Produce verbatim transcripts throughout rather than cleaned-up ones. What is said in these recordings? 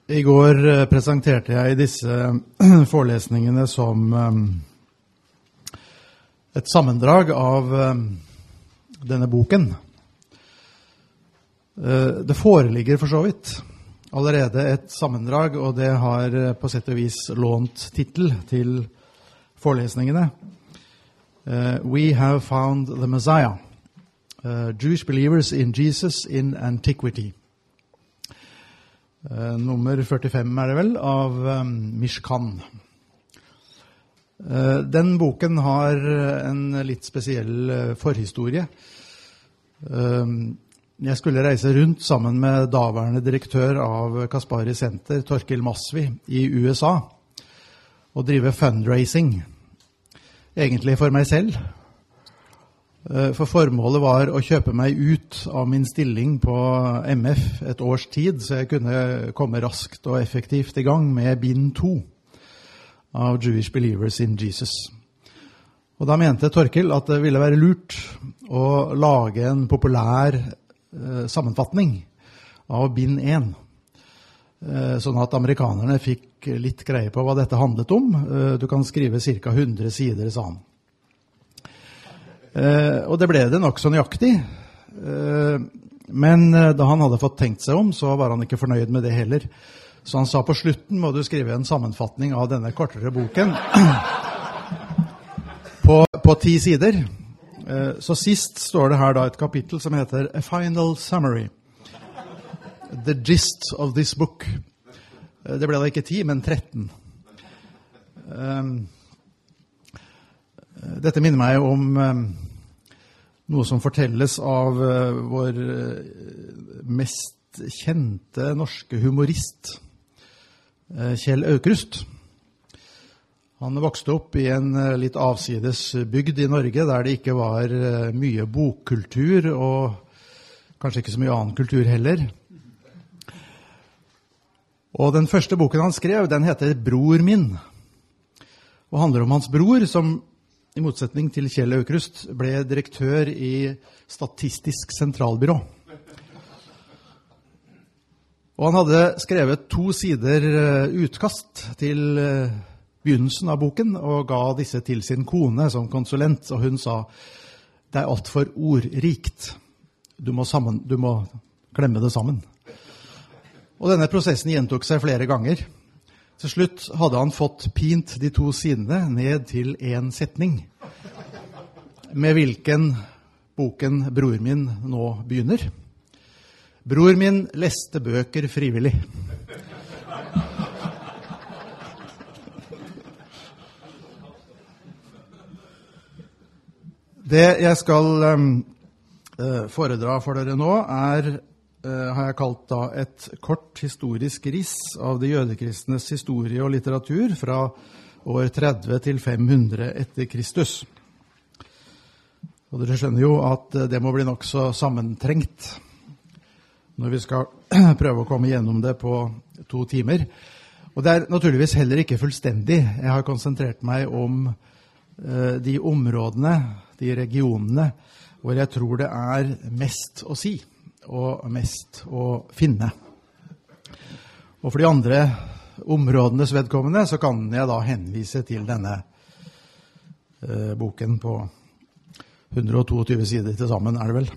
I går presenterte jeg disse forelesningene som et sammendrag av denne boken. Det foreligger for så vidt allerede et sammendrag, og det har på sett og vis lånt titel til forelesningene. We have found the Messiah. Uh, Jewish believers in Jesus in antiquity. Uh, nummer førtifem er det vel, av um, Mishkan. Uh, den boken har en litt spesiell uh, forhistorie. Uh, jeg skulle reise rundt sammen med daværende direktør av Kaspari Center, Torkil Masvi, i U S A, og drive fundraising. Egentlig for meg selv. For formålet var å kjøpe meg ut av min stilling på M F et års tid, så jeg kunne komme raskt og effektivt i gang med bind to av Jewish Believers in Jesus. Og da mente Torkil at det ville være lurt å lage en populær eh, sammenfatning av bind én, eh, sånn at amerikanerne fikk litt greie på hva dette handlet om. Eh, du kan skrive cirka hundre sider, sa han. Uh, og det ble det nok så nøyaktig, uh, men uh, da han hadde fått tenkt seg om, så var han ikke fornøyd med det heller. Så han sa på slutten må du skrive en sammenfatning av denne kortere boken på, på ti sider. Uh, så sist står det her da et kapittel som heter A Final Summary. The gist of this book. Uh, det ble da ikke ti, men tretten. Um, Dette minner meg om um, noe som fortelles av uh, vår uh, mest kjente norske humorist, uh, Kjell Aukrust. Han vokste opp i en uh, litt avsides bygd i Norge, der det ikke var uh, mye bokkultur, og kanskje ikke så mye annen kultur heller. Og den første boken han skrev, den heter Bror min, og handler om hans bror, som i motsetning til Kjell Aukrust ble direktør i Statistisk sentralbyrå. Og han hadde skrevet to sider utkast til begynnelsen av boken, og ga disse til sin kone som konsulent, og hun sa, det er alt for ordrikt. Du må, sammen, du må klemme det sammen. Og denne prosessen gjentok seg flere ganger. Til slutt hadde han fått pint de to sidene ned til en setning, med hvilken boken Bror min nå begynner. Bror min leste bøker frivillig. Det jeg skal um, foredra for dere nå er Uh, har jeg kalt da et kort historisk riss av de jødekristnes historie og litteratur fra år tretti til fem hundre etter Kristus. Og dere skjønner jo at det må bli nok så sammentrengt når vi skal prøve å komme gjennom det på to timer. Og det er naturligvis heller ikke fullstendig. Jeg har konsentrert meg om uh, de områdene, de regionene, hvor jeg tror det er mest å si og mest å finne. Og for de andre områdenes vedkommende så kan jeg da henvise til denne eh, boken på hundre og tjueto sider til sammen, er det vel.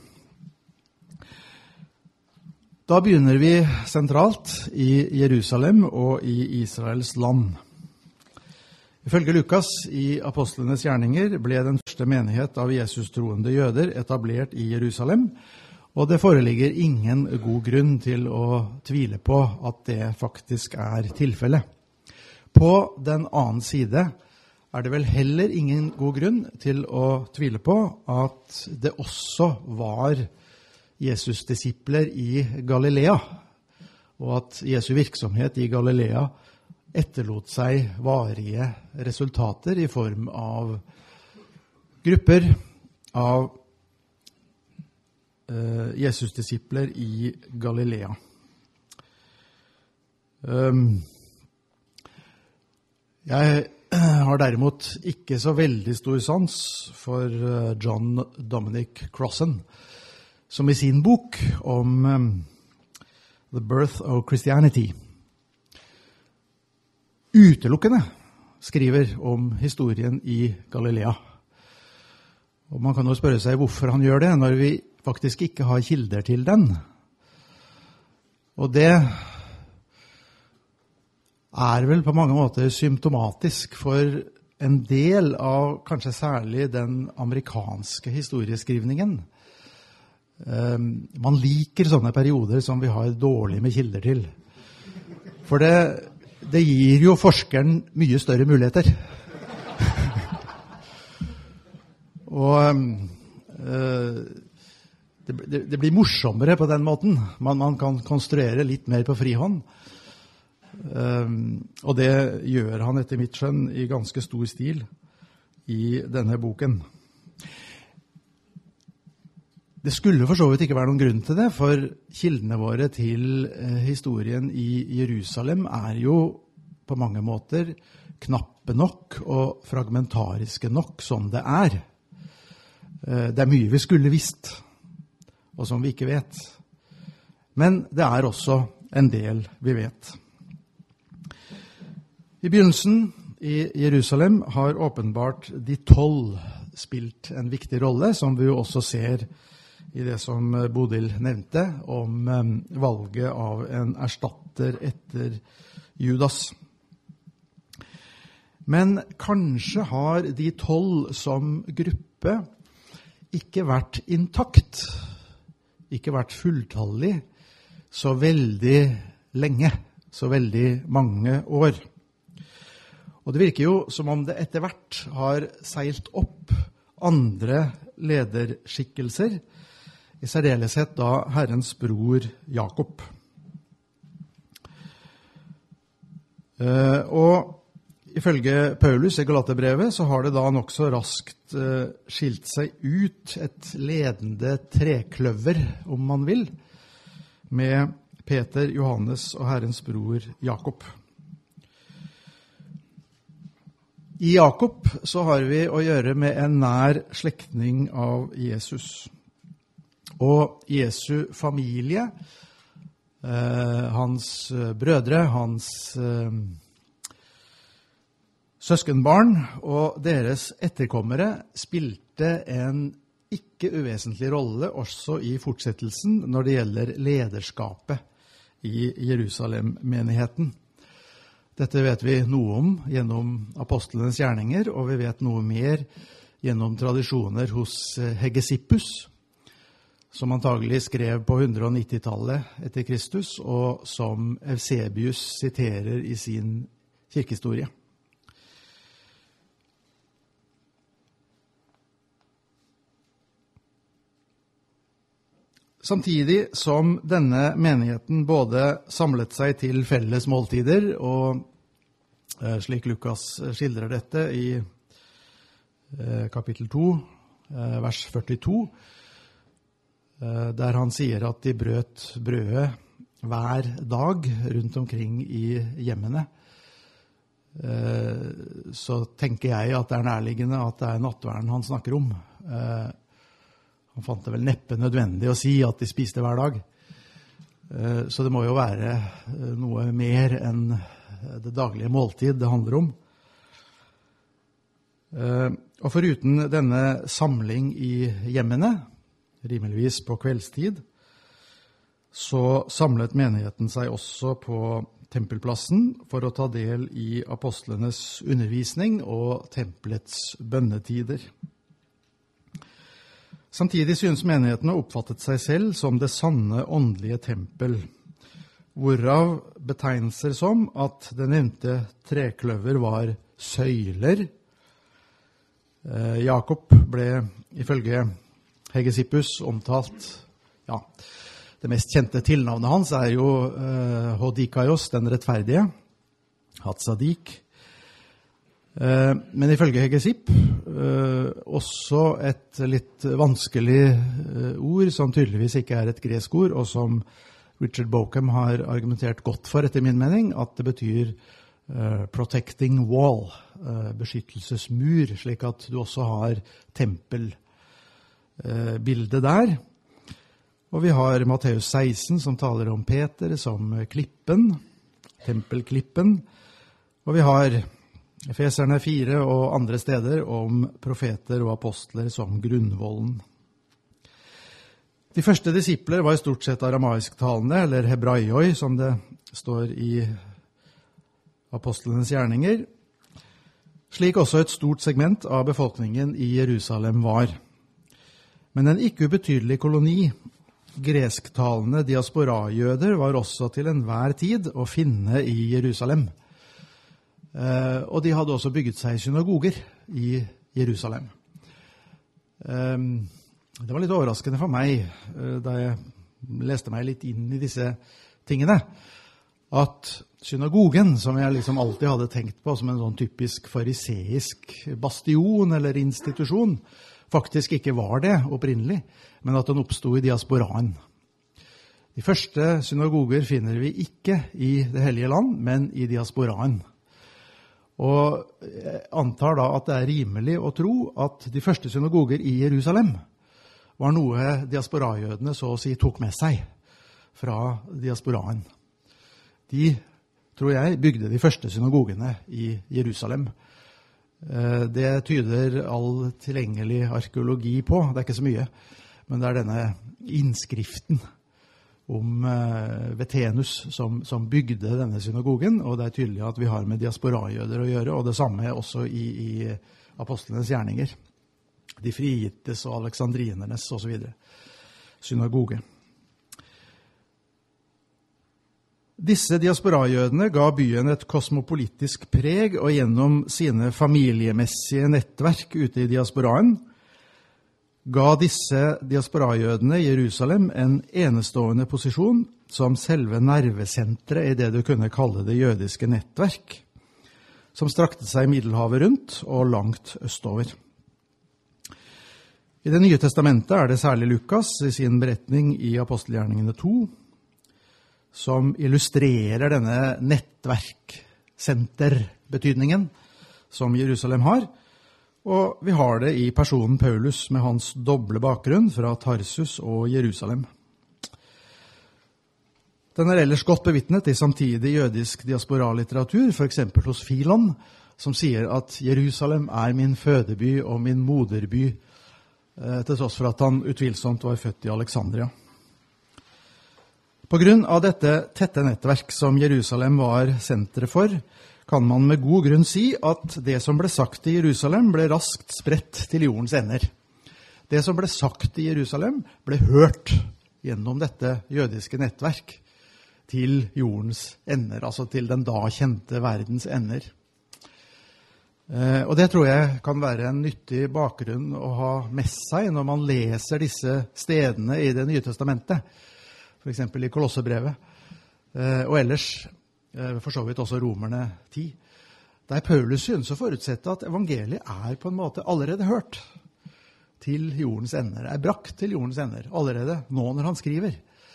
Da begynner vi sentralt i Jerusalem og i Israels land. Ifølge Lukas i Apostlenes gjerninger ble den første menighet av Jesus-troende jøder etablert i Jerusalem, og det foreligger ingen god grunn til å tvile på at det faktisk er tilfellet. På den annen side er det vel heller ingen god grunn til å tvile på at det også var Jesus-disipler i Galilea, og at Jesu virksomhet i Galilea etterlot seg varige resultater i form av grupper av Uh, Jesus-disipler i Galilea. Um, jeg har derimot ikke så veldig stor sans for uh, John Dominic Crossan, som i sin bok om um, The Birth of Christianity utelukkende skriver om historien i Galilea. Og man kan jo spørre seg hvorfor han gjør det, når vi faktisk ikke har kilder til den. Og det er vel på mange måter symptomatisk for en del av kanskje særlig den amerikanske historieskrivningen. Um, man liker sånne perioder som vi har dårlig med kilder til. For det, det gir jo forskeren mye større muligheter. Og uh, det, det, det blir morsommere på den måten. Man, man kan konstruere litt mer på frihånd. Um, og det gjør han etter mitt skjønn i ganske stor stil i denne boken. Det skulle for så vidt ikke være noen grunn til det, for kildene våre til eh, historien i Jerusalem er jo på mange måter knappe nok og fragmentariske nok som det er. Eh, det er mye vi skulle visst, og som vi ikke vet. Men det er også en del vi vet. I begynnelsen i Jerusalem har åpenbart de tolv spilt en viktig rolle, som vi jo også ser i det som Bodil nevnte om um, valget av en erstatter etter Judas. Men kanskje har de tolv som gruppe ikke vært intakt, ikke vært fulltallig så veldig lenge, så veldig mange år. Og det virker jo som om det etter hvert har seilt opp andre lederskikkelser, i særdeleshet da Herrens bror Jakob. Uh, og ifølge Paulus i Galaterbrevet så har det da nok så raskt uh, skilt seg ut et ledende trekløver, om man vil, med Peter, Johannes og Herrens bror Jakob. I Jakob så har vi å gjøre med en nær slektning av Jesus. Og Jesu familie, eh, hans brødre, hans eh, søskenbarn og deres etterkommere spilte en ikke uvesentlig rolle også i fortsettelsen når det gjelder lederskapet i Jerusalem-menigheten. Dette vet vi noe om gjennom apostlenes gjerninger, og vi vet noe mer gjennom tradisjoner hos Hegesippus, som antagelig skrev på hundre og nitti-tallet etter Kristus, og som Eusebius siterer i sin kirkehistorie. Samtidig som denne menigheten både samlet seg til felles måltider, og eh, slik Lukas skildrer dette i eh, kapittel to, eh, vers førtito, eh, der han sier at de brøt brødet hver dag rundt omkring i hjemmene, eh, så tenker jeg at det er nærliggende at det er nattverden han snakker om. Eh, Han fant det vel neppe nødvendig å si at de spiste hver dag. Så det må jo være noe mer enn det daglige måltid det handler om. Og foruten denne samling i hjemmene, rimeligvis på kveldstid, så samlet menigheten seg også på tempelplassen for å ta del i apostlenes undervisning og tempelets bønnetider. Samtidig synes menigheten å oppfattet seg selv som det sanne åndelige tempel, hvorav betegnelser som at det nevnte trekløver var søyler. Eh, Jakob ble ifølge Hegesippus omtalt, ja, det mest kjente tilnavnet hans er jo eh, Hodikaios, den rettferdige, Hatzadik. Eh, men ifølge Hegesipp eh, også et litt vanskelig eh, ord, som tydeligvis ikke er et gresk ord, og som Richard Bauckham har argumentert godt for etter min mening, at det betyr eh, protecting wall, eh, beskyttelsesmur, slik at du også har tempelbildet eh, der. Og vi har Matteus seksten som taler om Peter som klippen, tempelklippen, Og vi har Efeserne fire og andre steder om profeter og apostler som grunnvollen. De første disipler var i stort sett aramaisktalende, eller hebraioi, som det står i apostlenes gjerninger, slik også et stort segment av befolkningen i Jerusalem var. Men en ikke ubetydelig koloni, gresktalende diasporajøder, var også til enhver tid å finne i Jerusalem. Eh, og de hadde også bygget seg synagoger i Jerusalem. Eh, det var litt overraskende for meg, eh, da jeg leste meg litt inn i disse tingene, at synagogen, som jeg liksom alltid hadde tenkt på som en sånn typisk fariseisk bastion eller institusjon, faktisk ikke var det opprinnelig, men at den oppstod i diasporaen. De første synagoger finner vi ikke i det hellige land, men i diasporaen. Og jeg antar da at det er rimelig å tro at de første synagoger i Jerusalem var noe diasporajødene så å si tok med seg fra diasporaen. De, tror jeg, bygde de første synagogene i Jerusalem. Det tyder all tilgjengelig arkeologi på. Det er ikke så mye, men det er denne innskriften om Vetenus som, som bygde denne synagogen, og det er tydelig at vi har med diasporajøder å gjøre, og det samme også i, i apostlenes gjerninger. De frigittes og aleksandrinernes og så videre. Synagoge. Disse diasporajødene ga byen et kosmopolitisk preg, og gjennom sine familiemessige nettverk ute i diasporaen ga disse diasporajødene i Jerusalem en enestående posisjon som selve nervesentret i det du kunne kalle det jødiske nettverk, som strakte seg Middelhavet rundt og langt østover. I Det nye testamentet er det særlig Lukas i sin beretning i Apostelgjerningene to, som illustrerer denne nettverksenterbetydningen som Jerusalem har. Og vi har det i personen Paulus med hans doble bakgrunn fra Tarsus og Jerusalem. Den er ellers godt bevitnet i samtidig jødisk diasporalitteratur, for eksempel hos Filon, som sier at Jerusalem er min fødeby og min moderby, til tross for at han utvilsomt var født i Alexandria. På grunn av dette tette nettverk som Jerusalem var senteret for, kan man med god grunn si at det som ble sagt i Jerusalem ble raskt spredt til jordens ender. Det som ble sagt i Jerusalem ble hørt gjennom dette jødiske nettverk til jordens ender, altså til den da kjente verdens ender. Og det tror jeg kan være en nyttig bakgrunn å ha med seg når man leser disse stedene i Det nye testamentet, for eksempel i Kolossebrevet, og ellers for så vidt også Romerne ti, der Paulus synes å forutsette at evangeliet er på en måte allerede hørt til jordens ender, er brakt til jordens ender, allerede nå når han skriver.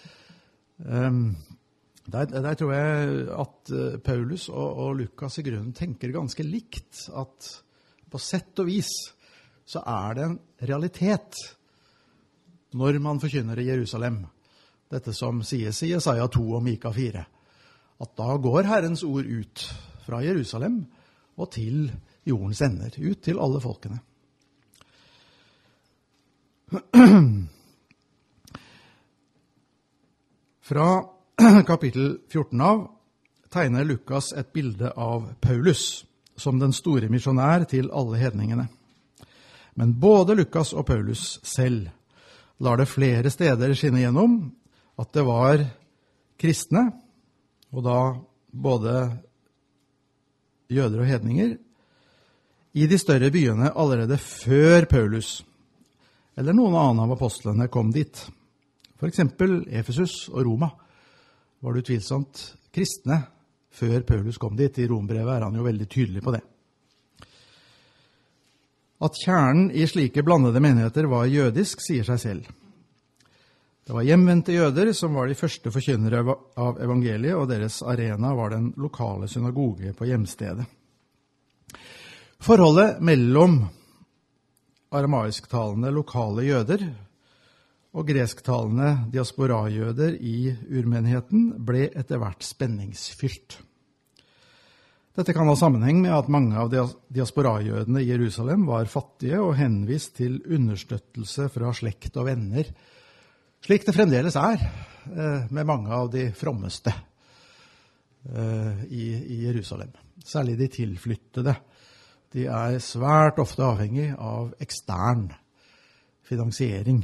Der, der tror jeg at Paulus og, og Lukas i grunnen tenker ganske likt, at på sett og vis så er det en realitet når man forkynner i Jerusalem, dette som sies i Jesaja to og Mika fire, at da går Herrens ord ut fra Jerusalem og til jordens ender, ut til alle folkene. Fra kapittel fjorten av tegner Lukas et bilde av Paulus som den store misjonær til alle hedningene. Men både Lukas og Paulus selv lar det flere steder skinne gjennom at det var kristne, og da både jøder og hedninger, i de større byene allerede før Paulus, eller noen annen av apostlene kom dit. For eksempel Efesus og Roma var det utvilsomt kristne før Paulus kom dit. I Rombrevet er han jo veldig tydelig på det. At kjernen i slike blandede menigheter var jødisk, sier seg selv. Det var hjemvendte jøder som var de første forkynnere av evangeliet, og deres arena var den lokale synagoge på hjemstedet. Forholdet mellom aramaisktalende lokale jøder og gresktalende diasporajøder i urmenigheten ble etter hvert spenningsfylt. Dette kan ha sammenheng med at mange av diasporajødene i Jerusalem var fattige og henvist til understøttelse fra slekt og venner, slik det fremdeles er med mange av de frommeste i, i Jerusalem. Særlig de tilflyttede. De er svært ofte avhengig av ekstern finansiering.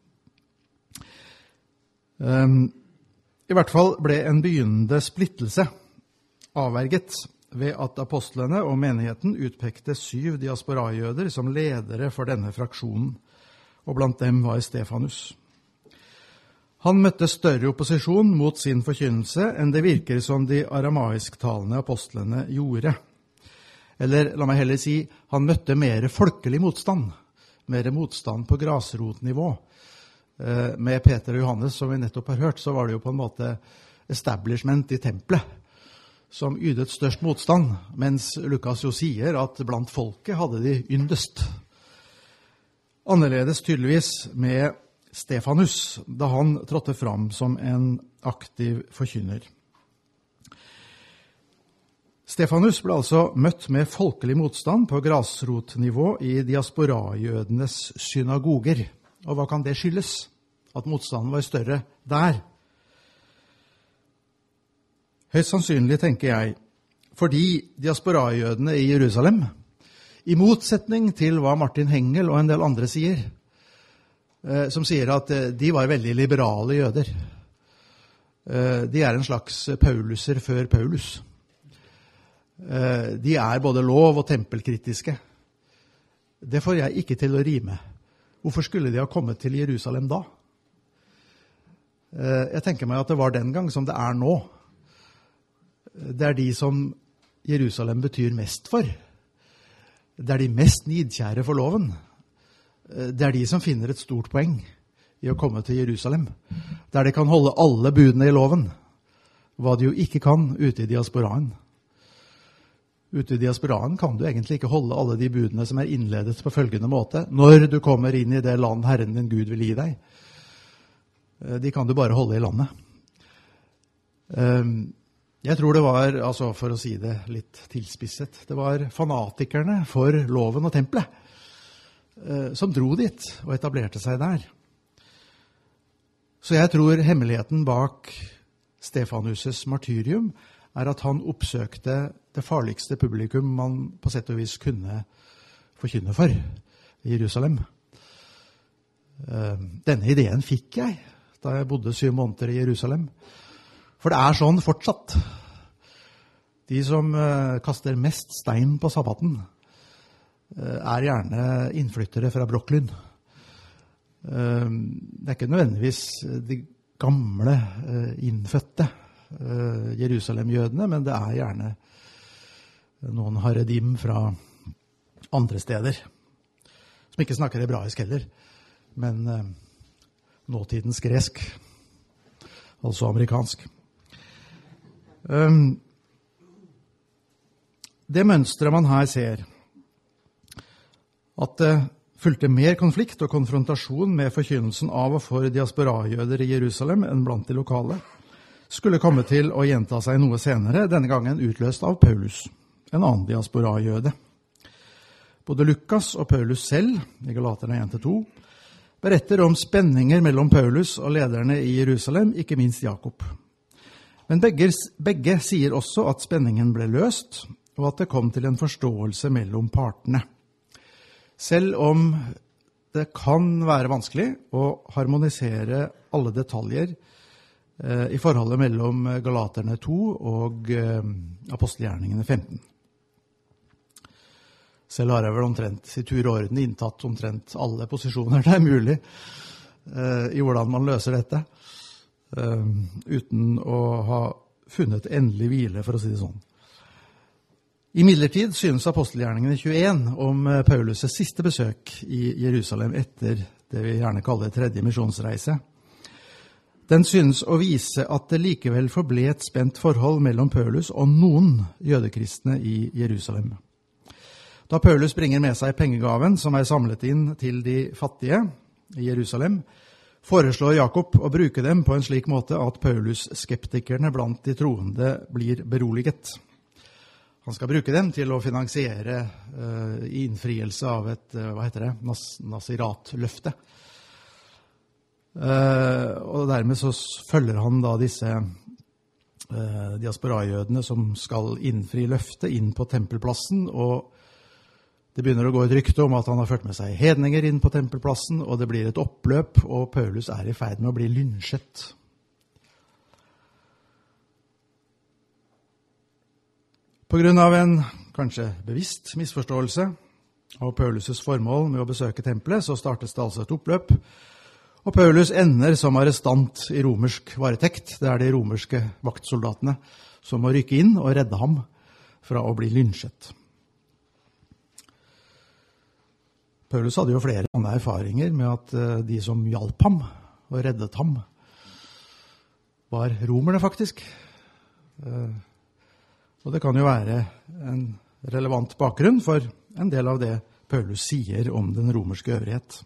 I hvert fall ble en begynnende splittelse avverget ved at apostlene og menigheten utpekte syv diasporajøder som ledere for denne fraksjonen, og blant dem var Stefanus. Han møtte større opposisjon mot sin forkynnelse enn det virker som de aramaisktalende apostlene gjorde. Eller la meg heller si, han møtte mer folkelig motstand, mer motstand på grasrotnivå. Med Peter og Johannes, som vi nettopp har hørt, så var det jo på en måte establishment i tempelet som ydet størst motstand, mens Lukas jo sier at blant folket hadde de yndest. Annerledes tydeligvis med Stefanus, da han trådte fram som en aktiv forkynner. Stefanus ble altså møtt med folkelig motstand på grasrotnivå i diasporajødenes synagoger. Og hva kan det skyldes? At motstanden var større der? Høyst sannsynlig, tenker jeg, fordi diasporajødene i Jerusalem, i motsetning til hva Martin Hengel og en del andre sier, som sier at de var veldig liberale jøder. De er en slags Pauluser før Paulus. De er både lov- og tempelkritiske. Det får jeg ikke til å rime. Hvorfor skulle de ha kommet til Jerusalem da? Jeg tenker meg at det var den gang som det er nå. Det er de som Jerusalem betyr mest for. Det er de mest nidkjære for loven. Det er de som finner et stort poeng i å komme til Jerusalem, der de kan holde alle budene i loven, hva de jo ikke kan ute i diasporaen. Ute i diasporaen kan du egentlig ikke holde alle de budene som er innledet på følgende måte. Når du kommer inn i det land Herren din Gud vil gi deg, de kan du bare holde i landet. Jeg tror det var, altså for å si det litt tilspisset, det var fanatikerne for loven og tempelet som dro dit og etablerte seg der. Så jeg tror hemmeligheten bak Stefanus' martyrium er at han oppsøkte det farligste publikum man på sett og vis kunne forkynne for i Jerusalem. Denne ideen fikk jeg da jeg bodde syv måneder i Jerusalem. For det er sånn fortsatt. De som kaster mest stein på sabbaten er gjerne innflyttere fra Brooklyn. Det er ikke nødvendigvis de gamle innfødte Jerusalem-jødene, men det er gjerne noen haredim fra andre steder, som ikke snakker hebraisk heller, men nåtidens gresk, altså amerikansk. Det mønstret man her ser, at det fulgte mer konflikt og konfrontasjon med forkynnelsen av og for diasporajøder i Jerusalem enn blant de lokale, skulle komme til å gjenta seg noe senere, denne gangen utløst av Paulus, en annen diasporajøde. Både Lukas og Paulus selv, i Galaterne en til to, beretter om spenninger mellom Paulus og lederne i Jerusalem, ikke minst Jakob. Men begge, begge sier også at spenningen ble løst, og at det kom til en forståelse mellom partene. Selv om det kan være vanskelig å harmonisere alle detaljer eh, i forholdet mellom Galaterne to og eh, apostelgjerningene femten. Selv har jeg vel omtrent i tur og orden inntatt omtrent alle posisjoner det er mulig eh, i hvordan man løser dette, eh, uten å ha funnet endelig hvile, for å si det sånn. I midlertid synes apostelgjerningene tjueen om Paulus' siste besøk i Jerusalem etter det vi gjerne kaller tredje misjonsreise. Den synes å vise at det likevel forble et spent forhold mellom Paulus og noen jødekristne i Jerusalem. Da Paulus bringer med seg pengegaven som er samlet inn til de fattige i Jerusalem, foreslår Jakob å bruke dem på en slik måte at Paulus-skeptikerne blant de troende blir beroliget. han skal bruke dem til å finansiere uh, innfrielse av et, uh, hva heter det, Nas Nasirat-løfte. Uh, og dermed så følger han da disse uh, diasporajødene som skal innfri løftet inn på tempelplassen, og det begynner å gå et rykte om at han har ført med seg hedninger inn på tempelplassen, og det blir et oppløp, og Paulus er i ferd med å bli lynsjet. På grunn av en kanskje bevisst misforståelse av Paulus' formål med å besøke tempelet, så startes det altså et oppløp, og Paulus ender som arrestant i romersk varetekt. Det er de romerske vaktsoldatene som må rykke inn og redde ham fra å bli lynsjet. Paulus hadde jo flere andre erfaringer med at de som hjalp ham og reddet ham var romerne faktisk. Og det kan jo være en relevant bakgrunn for en del av det Paulus sier om den romerske øvrighet.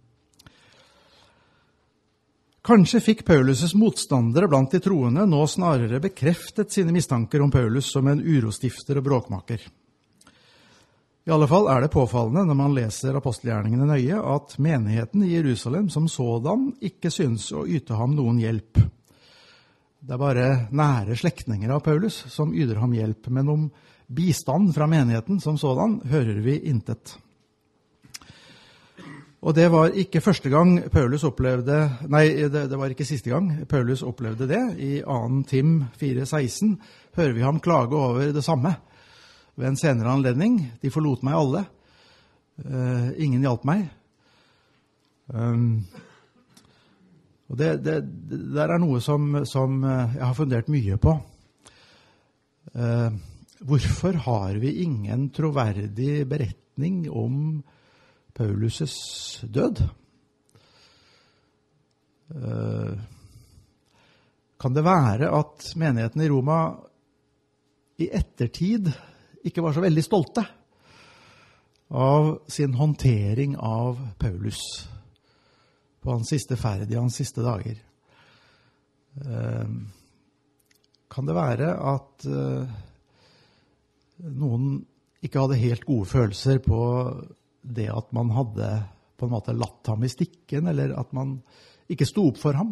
Kanskje fikk Paulus' motstandere blant de troende nå snarere bekreftet sine mistanker om Paulus som en urostifter og bråkmaker. I alle fall er det påfallende når man leser apostelgjerningene nøye at menigheten i Jerusalem som sådan ikke synes å yte ham noen hjelp. Det er bare nære slektninger av Paulus som yter ham hjelp, men om bistand fra menigheten som sådan hører vi intet. Og det var ikke første gang Paulus opplevde, nei, det, det var ikke siste gang Paulus opplevde det. I annen Tim fire seksten hører vi ham klage over det samme. Ved en senere anledning, de forlot meg alle. Uh, ingen hjalp meg. Um, og det, det, det der er noe som, som jeg har fundert mye på. Uh, hvorfor har vi ingen troverdig beretning om Paulus' død? Uh, kan det være at menigheten i Roma i ettertid ikke var så veldig stolte av sin håndtering av Paulus på hans siste ferd i hans siste dager? Kan det være at noen ikke hadde helt gode følelser på det at man hadde på en måte latt ham i stikken, eller at man ikke sto opp for ham?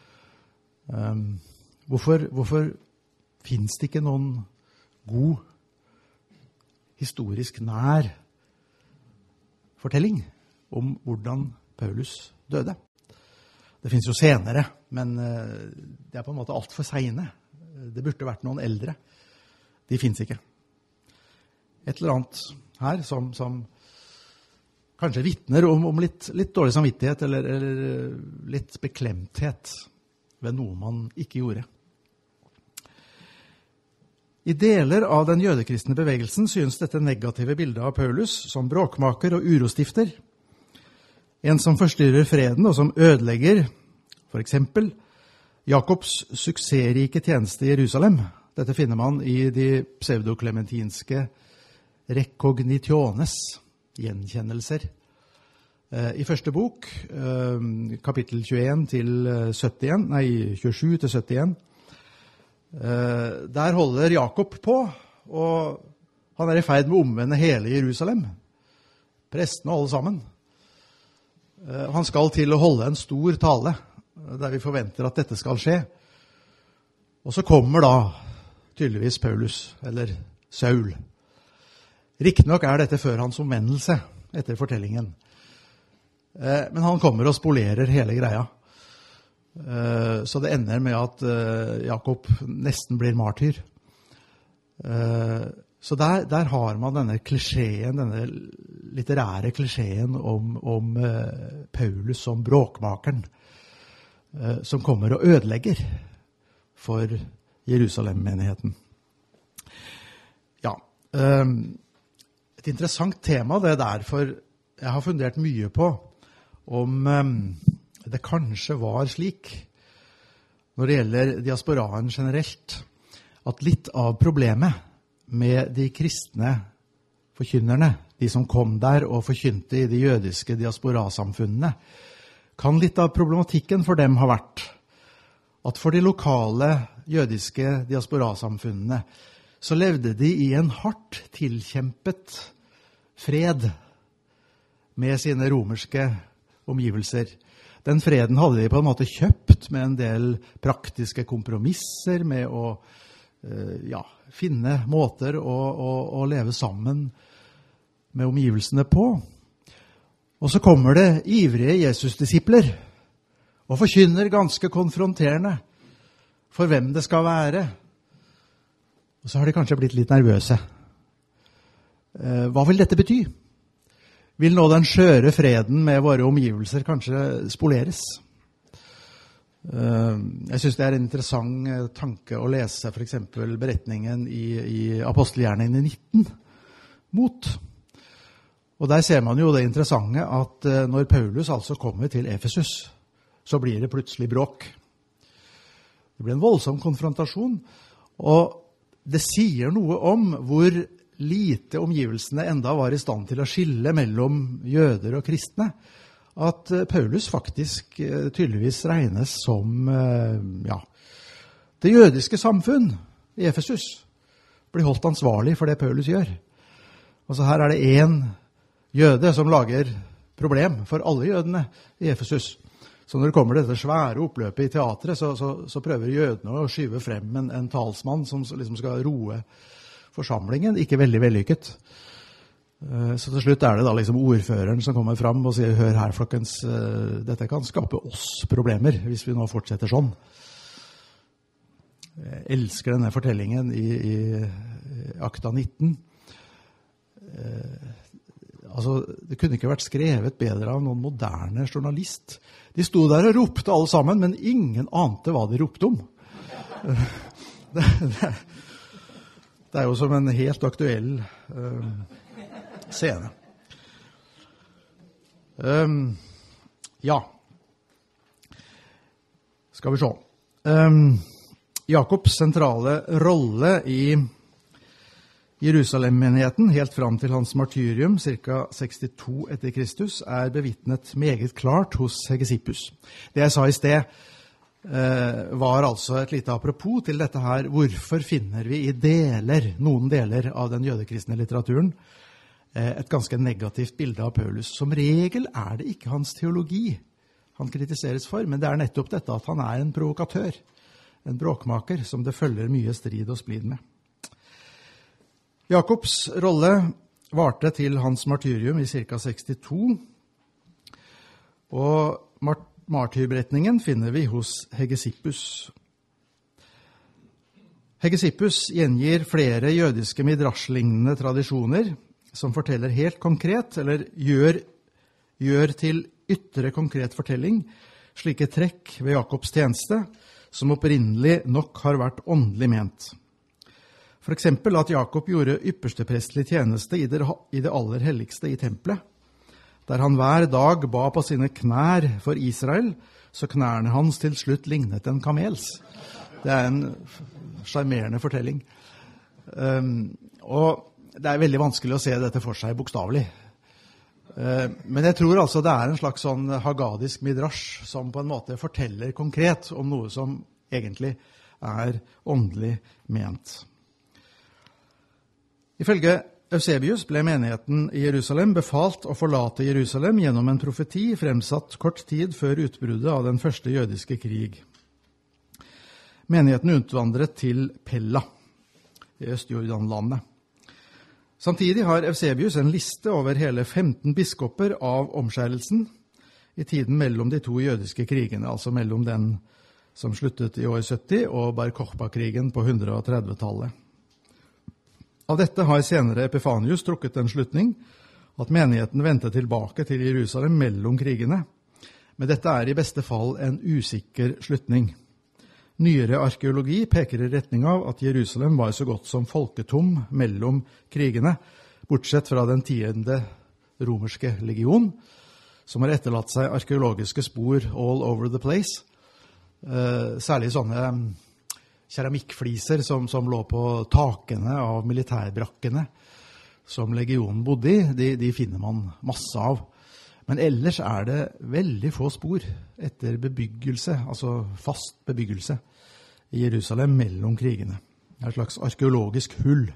Hvorfor, hvorfor finnes det ikke noen god historisk nær fortelling om hvordan Paulus døde? Det finnes jo senere, men det er på en måte alt for sene. Det burde vært noen eldre. De finnes ikke. Et eller annet her som, som kanskje vittner om, om litt, litt dårlig samvittighet eller, eller litt beklemthet ved noe man ikke gjorde. I deler av den jødekristne bevegelsen synes dette negative bildet av Paulus som bråkmaker og urostifter. En som forstyrrer freden og som ødelegger, for eksempel, Jakobs suksessrike tjeneste i Jerusalem. Dette finner man i de pseudoklementinske recognitiones, gjenkjennelser. I første bok, kapittel tjueen til syttien, nei, tjuesju til syttien, der holder Jakob på, og han er i ferd med å omvende hele Jerusalem. Prestene og alle sammen. Han skal til å holde en stor tale, der vi forventer at dette skal skje. Og så kommer da tydeligvis Paulus, eller Saul. Riktignok er dette før hans omvendelse, etter fortellingen. Men han kommer og spolerer hele greia. Så det ender med at Jakob nesten blir martyr. Så der, der har man denne klisjeen, denne litterære klisjeen om, om Paulus som bråkmakeren, som kommer og ødelegger for Jerusalem-menigheten. Ja, et interessant tema det er derfor jeg har fundert mye på om det kanskje var slik, når det gjelder diasporaen generelt, at litt av problemet med de kristne forkynnerne, de som kom der og forkynte i de jødiske diasporasamfunnene, kan litt av problematikken for dem ha vært at for de lokale jødiske diasporasamfunnene så levde de i en hardt tilkjempet fred med sine romerske omgivelser. Den freden hadde de på en måte kjøpt med en del praktiske kompromisser, med å ja, finne måter å, å, å leve sammen med omgivelsene på. Og så kommer det ivrige Jesus-disipler og forkynner ganske konfronterende for hvem det skal være. Og så har de kanskje blitt litt nervøse. Hva vil dette bety? Vil nå den skjøre freden med våre omgivelser kanskje spoleres? Jeg synes det er en interessant tanke å lese for eksempel beretningen i, i Apostelgjerningen nitten mot. Og der ser man jo det interessante at når Paulus altså kommer til Efesus, så blir det plutselig bråk. Det blir en voldsom konfrontasjon, og det sier noe om hvor lite omgivelsene enda var i stand til å skille mellom jøder og kristne, at Paulus faktisk tydeligvis regnes som ja, det jødiske samfunn i Efesus blir holdt ansvarlig for det Paulus gjør. Altså her er det en jøde som lager problem for alle jødene i Efesus. Så når det kommer dette svære oppløpet i teatret, så, så, så prøver jødene å skyve frem en, en talsmann som liksom skal roe forsamlingen. Ikke veldig vellykket. Så til slutt er det da liksom ordføreren som kommer fram og sier, hør her folkens, dette kan skape oss problemer hvis vi nå fortsetter sånn. Jeg elsker denne fortellingen i, i Akta nitten. Altså, det kunne ikke vært skrevet bedre av noen moderne journalist. De sto der og ropte alle sammen, men ingen ante hva de ropte om. Det, det, det er jo som en helt aktuell uh, scene. Um, ja. Skal vi se. Um, Jakobs sentrale rolle i Jerusalem-menigheten, helt fram til hans martyrium, ca. sekstito etter Kristus, er bevitnet meget klart hos Hegesippus. Det jeg sa i sted, var altså et lite apropos til dette her. Hvorfor finner vi i deler, noen deler av den jødekristne litteraturen, et ganske negativt bilde av Paulus? Som regel er det ikke hans teologi han kritiseres for, men det er nettopp dette at han er en provokatør, en bråkmaker, som det følger mye strid og splid med. Jakobs rolle varte til hans martyrium i ca. sekstito, og mart martyrberetningen finner vi hos Hegesippus. Hegesippus gjengir flere jødiske midrash-lignende tradisjoner som forteller helt konkret, eller gjør, gjør til ytre konkret fortelling, slike trekk ved Jakobs tjeneste, som opprinnelig nok har vært åndelig ment. For eksempel at Jakob gjorde yppersteprestlig tjeneste i det, i det aller helligste i tempelet, der han hver dag ba på sine knær for Israel, så knærne hans til slutt lignet en kamels. Det er en charmerende fortelling. Um, og det er veldig vanskelig å se dette for seg bokstavelig. Uh, men jeg tror altså det er en slags sånn hagadisk midrash som på en måte forteller konkret om noe som egentlig er åndelig ment. Ifølge Eusebius ble menigheten i Jerusalem befalt å forlate Jerusalem gjennom en profeti fremsatt kort tid før utbruddet av den første jødiske krig. Menigheten utvandret til Pella i Østjordanlandet. Samtidig har Eusebius en liste over hele femten biskoper av omskjærelsen i tiden mellom de to jødiske krigene, altså mellom den som sluttet i år sytti og Bar Kokhba-krigen på hundre tredve-tallet. Av dette har senere Epifanius trukket en slutning at menigheten vendte tilbake til Jerusalem mellom krigene, men dette er i beste fall en usikker slutning. Nyere arkeologi peker i retning av at Jerusalem var så godt som folketom mellom krigene, bortsett fra den tiende romerske legion, som har etterlatt seg arkeologiske spor all over the place, særlig sånne keramikkfliser som, som lå på takene av militærbrakkene som legionen bodde i, de, de finner man masse av. Men ellers er det veldig få spor etter bebyggelse, altså fast bebyggelse i Jerusalem mellom krigene. et slags arkeologisk hull.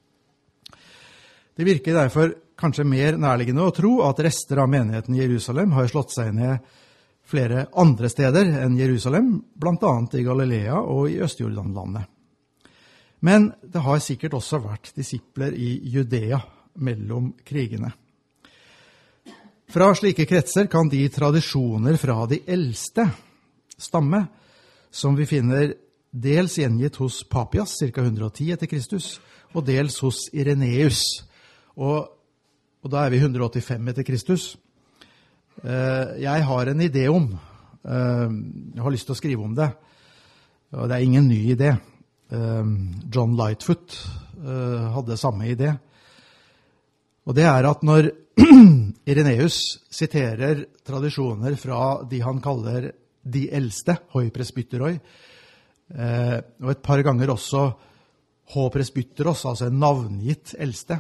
Det virker derfor kanskje mer nærliggende å tro at rester av menigheten i Jerusalem har slått seg ned flere andre steder enn Jerusalem, blant annet i Galilea og i Østjordanlandet. Men det har sikkert også vært disipler i Judea mellom krigene. Fra slike kretser kan de tradisjoner fra de eldste stamme, som vi finner dels gjengitt hos Papias, ca. hundre og ti etter Kristus, og dels hos Ireneus, og, og da er vi hundre og åttifem etter Kristus. Jeg har en idé om, jeg har lyst til å skrive om det, og det er ingen ny idé. John Lightfoot hadde samme idé. Og det er at når Ireneus siterer tradisjoner fra de han kaller de eldste, hoi presbyteroi, og et par ganger også ho presbyteros, altså en navngitt eldste,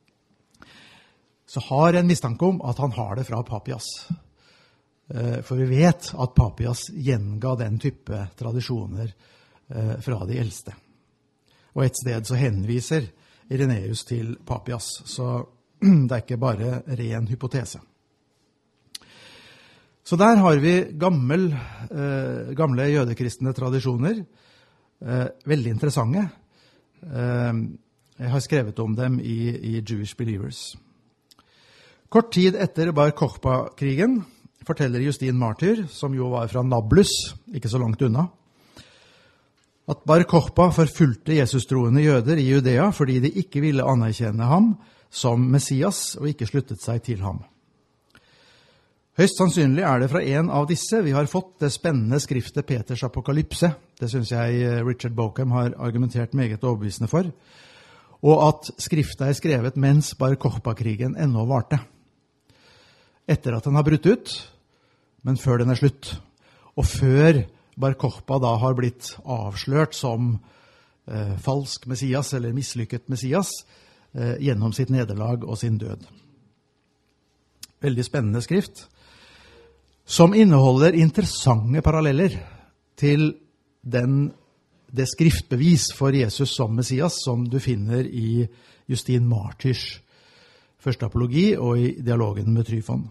så har jeg en mistanke om at han har det fra Papias. For vi vet at Papias gjenga den type tradisjoner fra de eldste. Og et sted så henviser Ireneus til Papias, så det er ikke bare ren hypotese. Så der har vi gammel, eh, gamle jødekristne tradisjoner, eh, veldig interessante. Eh, jeg har skrevet om dem i, i Jewish Believers. Kort tid etter Bar Kokhba-krigen forteller Justin Martyr, som jo var fra Nablus, ikke så langt unna, at Bar Kokhba forfulgte Jesus-troende jøder i Judea fordi de ikke ville anerkjenne ham som Messias og ikke sluttet seg til ham. Høyst sannsynlig er det fra en av disse vi har fått det spennende skriftet Peters apokalypse. Det synes jeg Richard Bauckham har argumentert meget overbevisende for. Og at skriftet er skrevet mens Bar Kokhba-krigen ennå varte. Etter at den har brutt ut, men før den er slutt. Og før Bar Kokhba da har blitt avslørt som eh, falsk Messias eller mislykket Messias eh, gjennom sitt nederlag og sin død. Veldig spennende skrift, som inneholder interessante paralleller til den, det skriftbevis for Jesus som Messias som du finner i Justin Martyrs første apologi og i dialogen med Tryfon.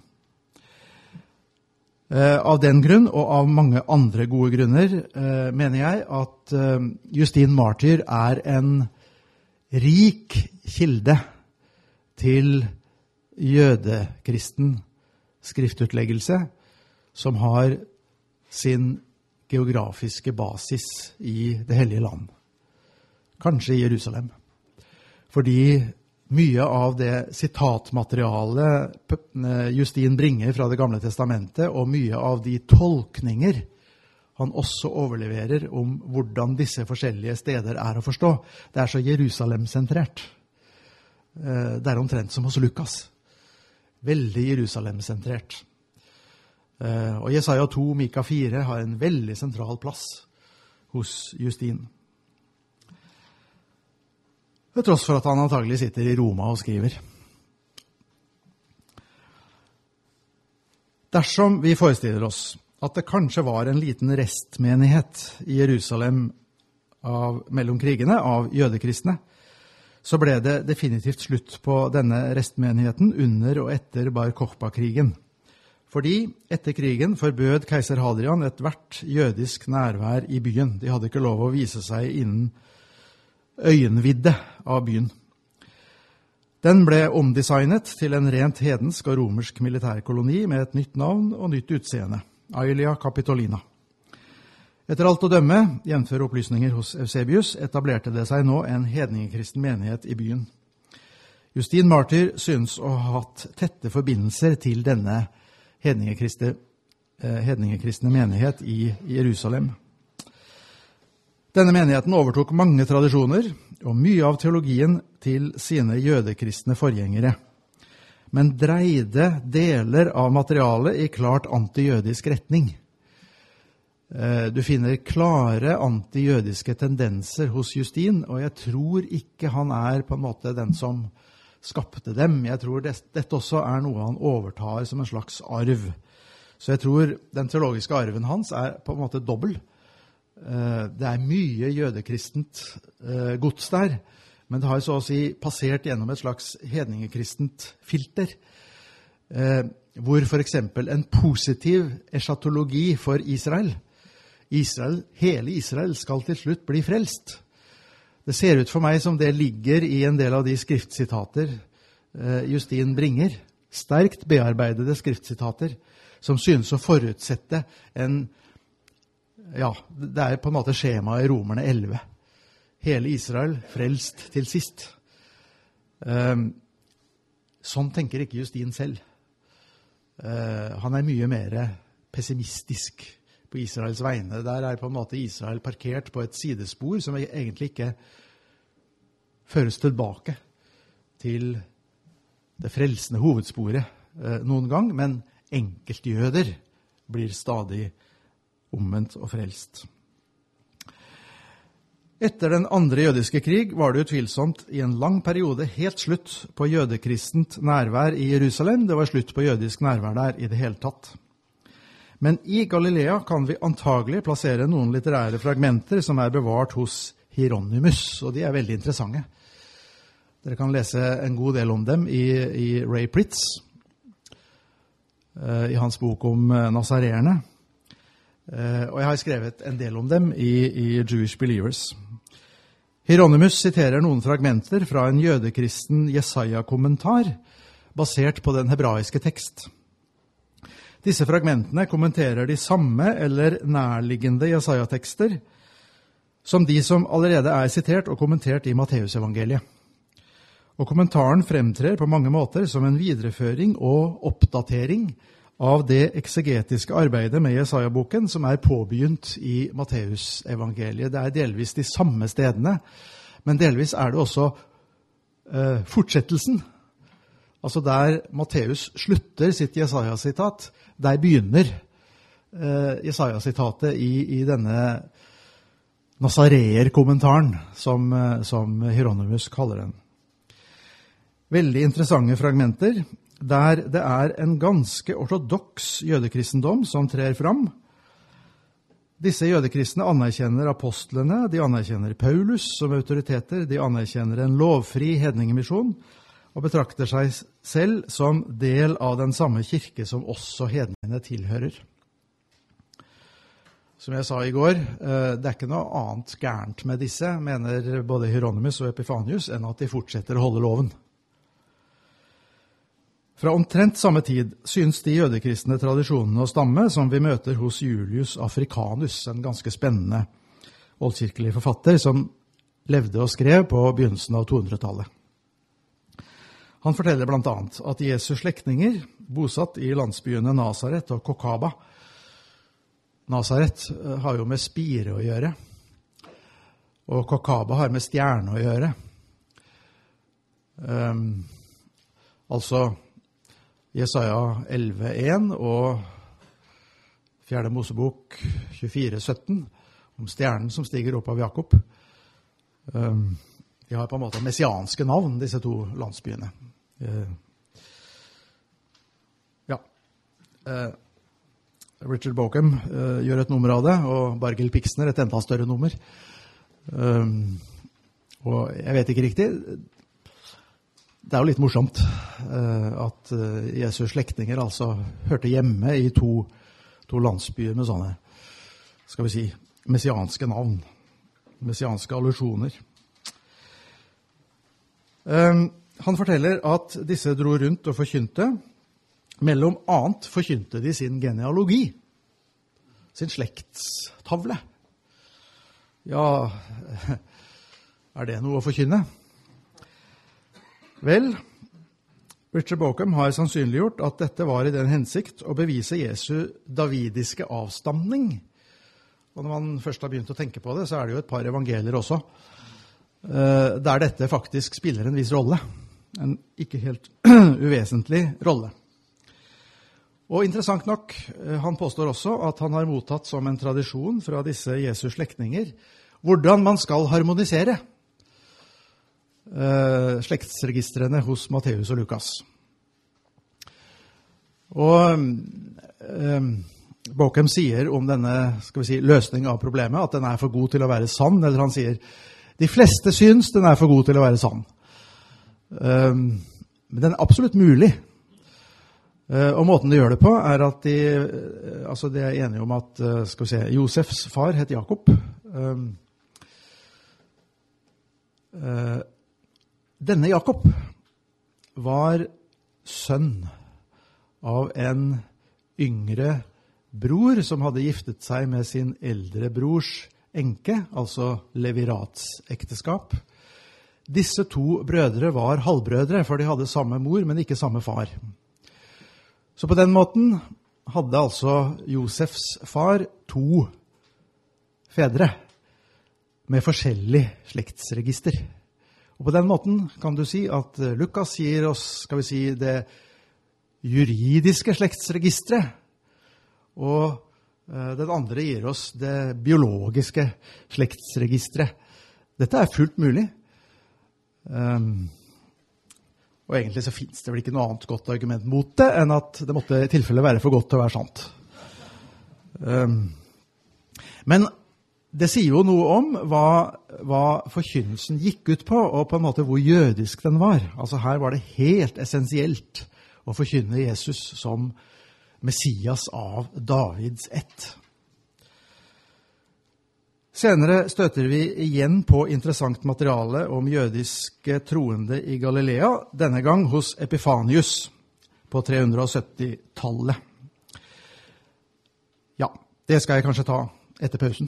Eh, av den grunn, og av mange andre gode grunner, eh, mener jeg at eh, Justin Martyr er en rik kilde til jødekristen skriftutleggelse som har sin geografiske basis i det hellige land. Kanskje i Jerusalem. Fordi mye av det sitatmaterialet Justin bringer fra det gamle testamentet, og mye av de tolkninger han også overleverer om hvordan disse forskjellige steder er å forstå, det er så Jerusalem-sentrert. Det er omtrent som hos Lukas. Veldig Jerusalem-sentrert. Og Jesaja to, Mika fire har en veldig sentral plass hos Justin. Til tross for at han antagelig sitter i Roma og skriver. Dersom vi forestiller oss at det kanskje var en liten restmenighet i Jerusalem av, mellom krigene av jødekristne, så ble det definitivt slutt på denne restmenigheten under og etter Bar Kokhba-krigen. Fordi etter krigen forbød keiser Hadrian et hvert jødisk nærvær i byen. De hadde ikke lov å vise seg innen øyenvidde av byen. Den ble omdesignet til en rent hedensk og romersk militærkoloni med et nytt navn og nytt utseende, Aelia Capitolina. Etter alt å dømme, jevnfør opplysninger hos Eusebius, etablerte det seg nå en hedningekristen menighet i byen. Justin Martyr synes å ha hatt tette forbindelser til denne hedningekristne, eh, hedningekristne menighet i Jerusalem. Denne menigheten overtok mange tradisjoner og mye av teologien til sine jødekristne forgjengere, men dreide deler av materialet i klart antijødisk retning. Du finner klare antijødiske tendenser hos Justin, og jeg tror ikke han er på en måte den som skapte dem. Jeg tror det, dette også er noe han overtar som en slags arv. Så jeg tror den teologiske arven hans er på en måte dobbel. Det er mye jødekristent gods der, men det har så å si passert gjennom et slags hedningekristent filter, hvor for eksempel en positiv eschatologi for Israel, Israel, hele Israel skal til slutt bli frelst. Det ser ut for meg som det ligger i en del av de skriftsitater Justin bringer, sterkt bearbeidede skriftsitater, som synes å forutsette en, ja, det er på en måte skjema i Romerne elleve. Hele Israel frelst til sist. Um, sånn tenker ikke Justin selv. Uh, han er mye mer pessimistisk på Israels vegne. Der er på en måte Israel parkert på et sidespor som egentlig ikke føres tilbake til det frelsende hovedsporet uh, noen gang, men enkeltjøder blir stadig omvendt og frelst. Etter den andre jødiske krig var det utvilsomt i en lang periode helt slutt på jødekristent nærvær i Jerusalem. Det var slutt på jødisk nærvær der i det hele tatt. Men i Galilea kan vi antagelig plassere noen litterære fragmenter som er bevart hos Hieronymus, og de er veldig interessante. Dere kan lese en god del om dem i, i Ray Pritz, i hans bok om nazareerne. Og jeg har skrevet en del om dem i, i Jewish Believers. Hieronymus siterer noen fragmenter fra en jødekristen Jesaja-kommentar, basert på den hebraiske tekst. Disse fragmentene kommenterer de samme eller nærliggende Jesaja-tekster som de som allerede er sitert og kommentert i Matteusevangeliet. Og kommentaren fremtrer på mange måter som en videreføring og oppdatering av det eksegetiske arbeidet med Jesaja-boken som er påbegynt i Matteusevangeliet. Det er delvis de samme stedene, men delvis er det også eh, fortsettelsen. Altså der Matteus slutter sitt Jesaja-sitat, der begynner eh, Jesaja-sitatet i, i denne Nazareer-kommentaren, som, som Hieronymus kaller den. Veldig interessante fragmenter, der det er en ganske ortodoks jødekristendom som trer fram. Disse jødekristne anerkjenner apostlene, de anerkjenner Paulus som autoriteter, de anerkjenner en lovfri hedningemisjon, og betrakter seg selv som del av den samme kirke som også hedningene tilhører. Som jeg sa i går, det er ikke noe annet gærent med disse, mener både Hieronymus og Epifanius, enn at de fortsetter å holde loven. Fra omtrent samme tid synes de jødekristne tradisjonene å stamme som vi møter hos Julius Africanus, en ganske spennende oldkirkelig forfatter som levde og skrev på begynnelsen av tohundretallet. Han forteller blant annet at Jesu slektninger, bosatt i landsbyene Nazaret og Kokaba. Nazaret har jo med spire å gjøre, og Kokaba har med stjerne å gjøre. Um, altså Jesaja elleve én og fjerde Mosebok tjuefire sytten om stjernen som stiger opp av Jakob. Um, de har på en måte messianske navn, disse to landsbyene. Uh, ja. Uh, Richard Bauckham uh, gjør et nummer av det, og Bargil Pixner et enda større nummer. Um, og jeg vet ikke riktig. Det er jo litt morsomt uh, at uh, Jesus slektninger altså hørte hjemme i to, to landsbyer med sånne, skal vi si, messianske navn, messianske allusjoner. Um, han forteller at disse dro rundt og forkynte. Mellom annet forkynte de sin genealogi, sin slektstavle. Ja, er det noe å forkynne? Vel, Richard Bauckham har sannsynliggjort at dette var i den hensikt å bevise Jesu davidiske avstamning. Og når man først har begynt å tenke på det, så er det jo et par evangelier også, der dette faktisk spiller en viss rolle. En ikke helt uvesentlig rolle. Og interessant nok, han påstår også at han har mottatt som en tradisjon fra disse Jesu slektninger, hvordan man skal harmonisere Uh, slektsregistrene hos Matteus og Lukas. Og um, Bauckham sier om denne, skal vi si, løsning av problemet, at den er for god til å være sann, eller han sier, de fleste syns den er for god til å være sann. Um, men den er absolutt mulig. Uh, og måten de gjør det på er at de, uh, altså de er enige om at, uh, skal vi se, Josefs far het Jakob. Um, uh, denne Jakob var sønn av en yngre bror som hadde giftet seg med sin eldre brors enke, altså leviratsekteskap. Disse to brødre var halvbrødre, for de hadde samme mor, men ikke samme far. Så på den måten hadde altså Josefs far to fedre med forskjellig slektsregister. Og på den måten kan du si at Lukas gir oss, skal vi si, det juridiske slektsregistret, og uh, den andre gir oss det biologiske slektsregistret. Dette er fullt mulig. Um, og egentlig så finnes det vel ikke noe annet godt argument mot det, enn at det måtte i tilfelle være for godt til å være sant. Um, men det sier jo noe om hva, hva forkynnelsen gikk ut på, og på en måte hvor jødisk den var. Altså her var det helt essensielt å forkynne Jesus som Messias av Davids ett. Senere støter vi igjen på interessant materiale om jødiske troende i Galilea, denne gang hos Epifanius på tre hundre sytti-tallet. Ja, det skal jeg kanskje ta etter pausen.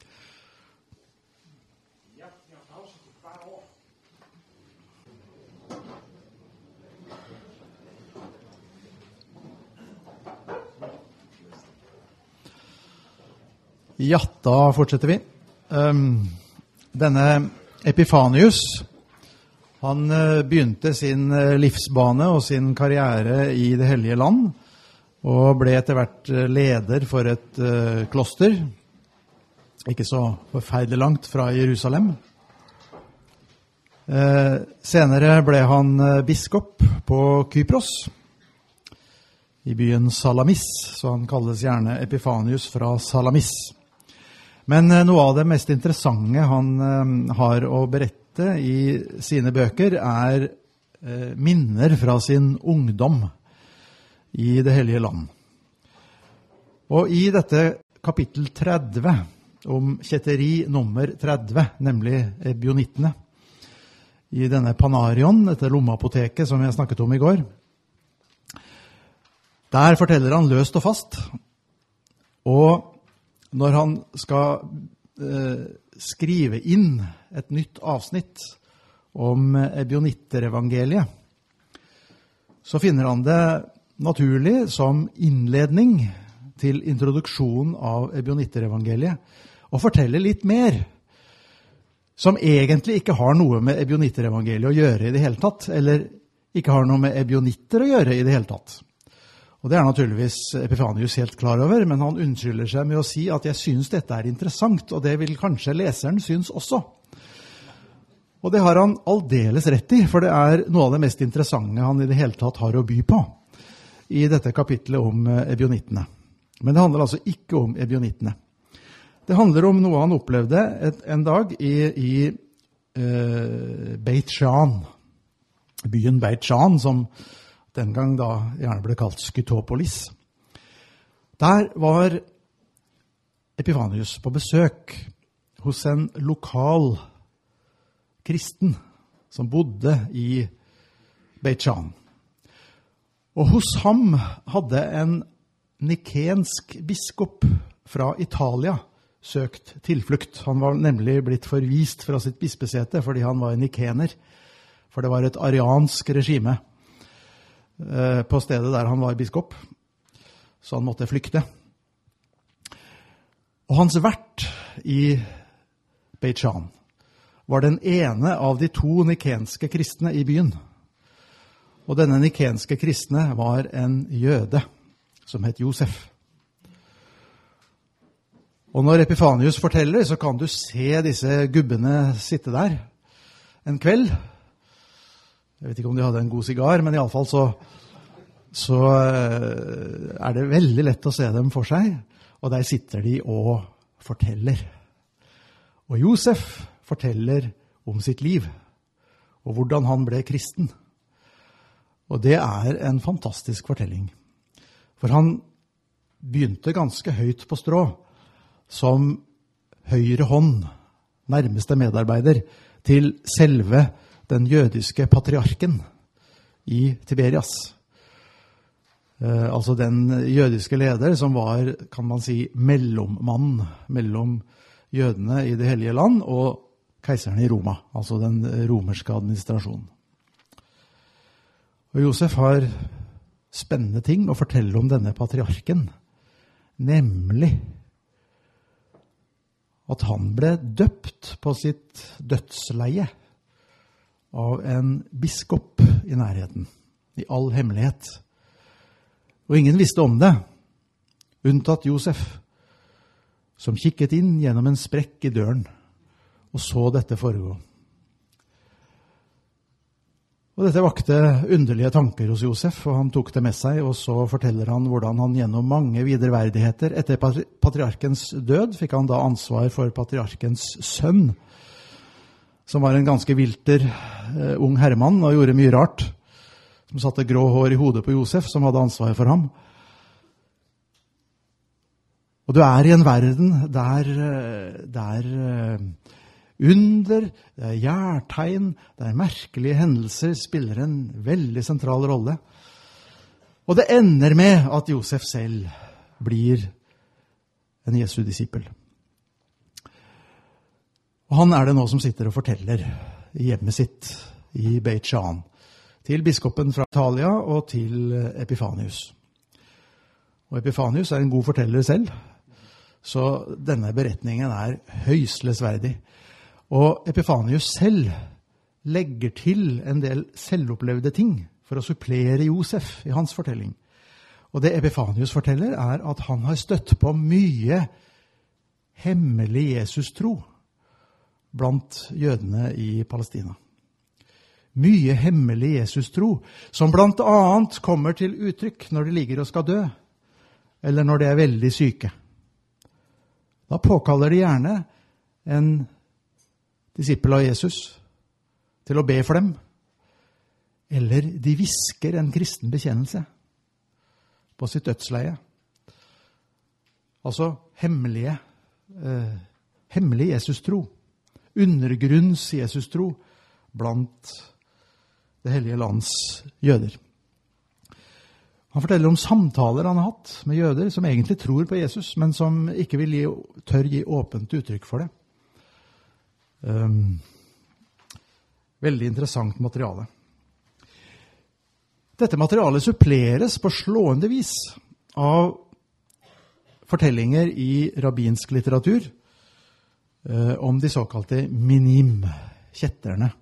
Ja, da fortsetter vi. Um, denne Epifanius, han uh, begynte sin uh, livsbane og sin karriere i det hellige land, og ble etter hvert uh, leder for et uh, kloster, ikke så forferdelig langt fra Jerusalem. Uh, senere ble han uh, biskop på Kypros, i byen Salamis, så han kalles gjerne Epifanius fra Salamis. Men noe av det mest interessante han uh, har å berette i sine bøker er uh, minner fra sin ungdom i det hellige land. Og i dette kapittel tretti, om kjetteri nummer tretti, nemlig ebionittene, i denne Panarion, dette lommeapoteket som jeg snakket om i går, der forteller han løst og fast, og når han skal eh, skrive inn et nytt avsnitt om ebionitter-evangeliet, så finner han det naturlig som innledning til introduksjon av ebionitter-evangeliet, og fortelle litt mer, som egentlig ikke har noe med ebionitter-evangeliet å gjøre i det hele tatt, eller ikke har noe med ebionitter å gjøre i det hele tatt. Og det er naturligvis Epifanius helt klar over, men han unnskylder seg med å si at jeg synes dette er interessant, og det vil kanskje leseren synes også. Og det har han aldeles rett i, for det er noe av det mest interessante han i det hele tatt har å by på i dette kapitlet om ebionittene. Men det handler altså ikke om ebionittene. Det handler om noe han opplevde et, en dag i, i uh, Beit Shean, byen Beit Shean, som den gang da gjerne ble kalt Skytopolis. Der var Epifanius på besøk hos en lokal kristen som bodde i Beit Shean. Og hos ham hadde en nikensk biskop fra Italia søkt tilflukt. Han var nemlig blitt forvist fra sitt bispesete fordi han var nikener, for det var et ariansk regime på stedet der han var biskop, så han måtte flykte. Og hans vert i Beit Shean var den ene av de to nikenske kristne i byen. Og denne nikenske kristne var en jøde som het Josef. Og når Epifanius forteller, så kan du se disse gubbene sitte der en kveld. Jeg vet ikke om de hadde en god sigar, men i alle fall så så er det veldig lett å se dem for seg, og der sitter de og forteller. Og Josef forteller om sitt liv, og hvordan han ble kristen. Og det er en fantastisk fortelling. For han begynte ganske høyt på strå, som høyre hånd, nærmeste medarbeider, til selve den jødiske patriarken i Tiberias. Eh, altså den jødiske leder som var, kan man si, mellommann mellom jødene i det hellige land og keiseren i Roma, altså den romerske administrasjonen. Og Josef har spennende ting å fortelle om denne patriarken, nemlig at han ble døpt på sitt dødsleie av en biskop i nærheten, i all hemmelighet. Og ingen visste om det, unntatt Josef, som kikket inn gjennom en sprekk i døren og så dette foregå. Og dette vakte underlige tanker hos Josef, og han tok det med seg, og så forteller han hvordan han gjennom mange videreverdigheter etter patriarkens død fikk han da ansvar for patriarkens sønn, som var en ganske vilter uh, ung herremann og gjorde mye rart, som satte grå hår i hodet på Josef, som hadde ansvar for ham. Og du er i en verden der, der under, der gjærtegn, der merkelige hendelser spiller en veldig sentral rolle. Og det ender med at Josef selv blir en Jesu disippel. Og han er det nå som sitter og forteller i hjemmet sitt i Beit Shean til biskopen fra Italia og til Epifanius. Og Epifanius er en god forteller selv, så denne beretningen er høyst lesverdig. Og Epifanius selv legger til en del selvopplevde ting for å supplere Josef i hans fortelling. Og det Epifanius forteller er at han har støtt på mye hemmelig Jesus-tro blant jødene i Palestina. Mye hemmelig Jesus-tro, som blant annet kommer til uttrykk når de ligger og skal dø, eller når de er veldig syke. Da påkaller de gjerne en disippel av Jesus til å be for dem, eller de visker en kristen bekjennelse på sitt dødsleie. Altså hemmelige, eh, hemmelig Jesus-tro, undergrunns Jesus-tro blant det hellige lands jøder. Han forteller om samtaler han har hatt med jøder som egentlig tror på Jesus, men som ikke vil gi, tør gi åpent uttrykk for det. Um, veldig interessant materiale. Dette materialet suppleres på slående vis av fortellinger i rabbinsk litteratur uh, om de såkalte minim, kjetterne.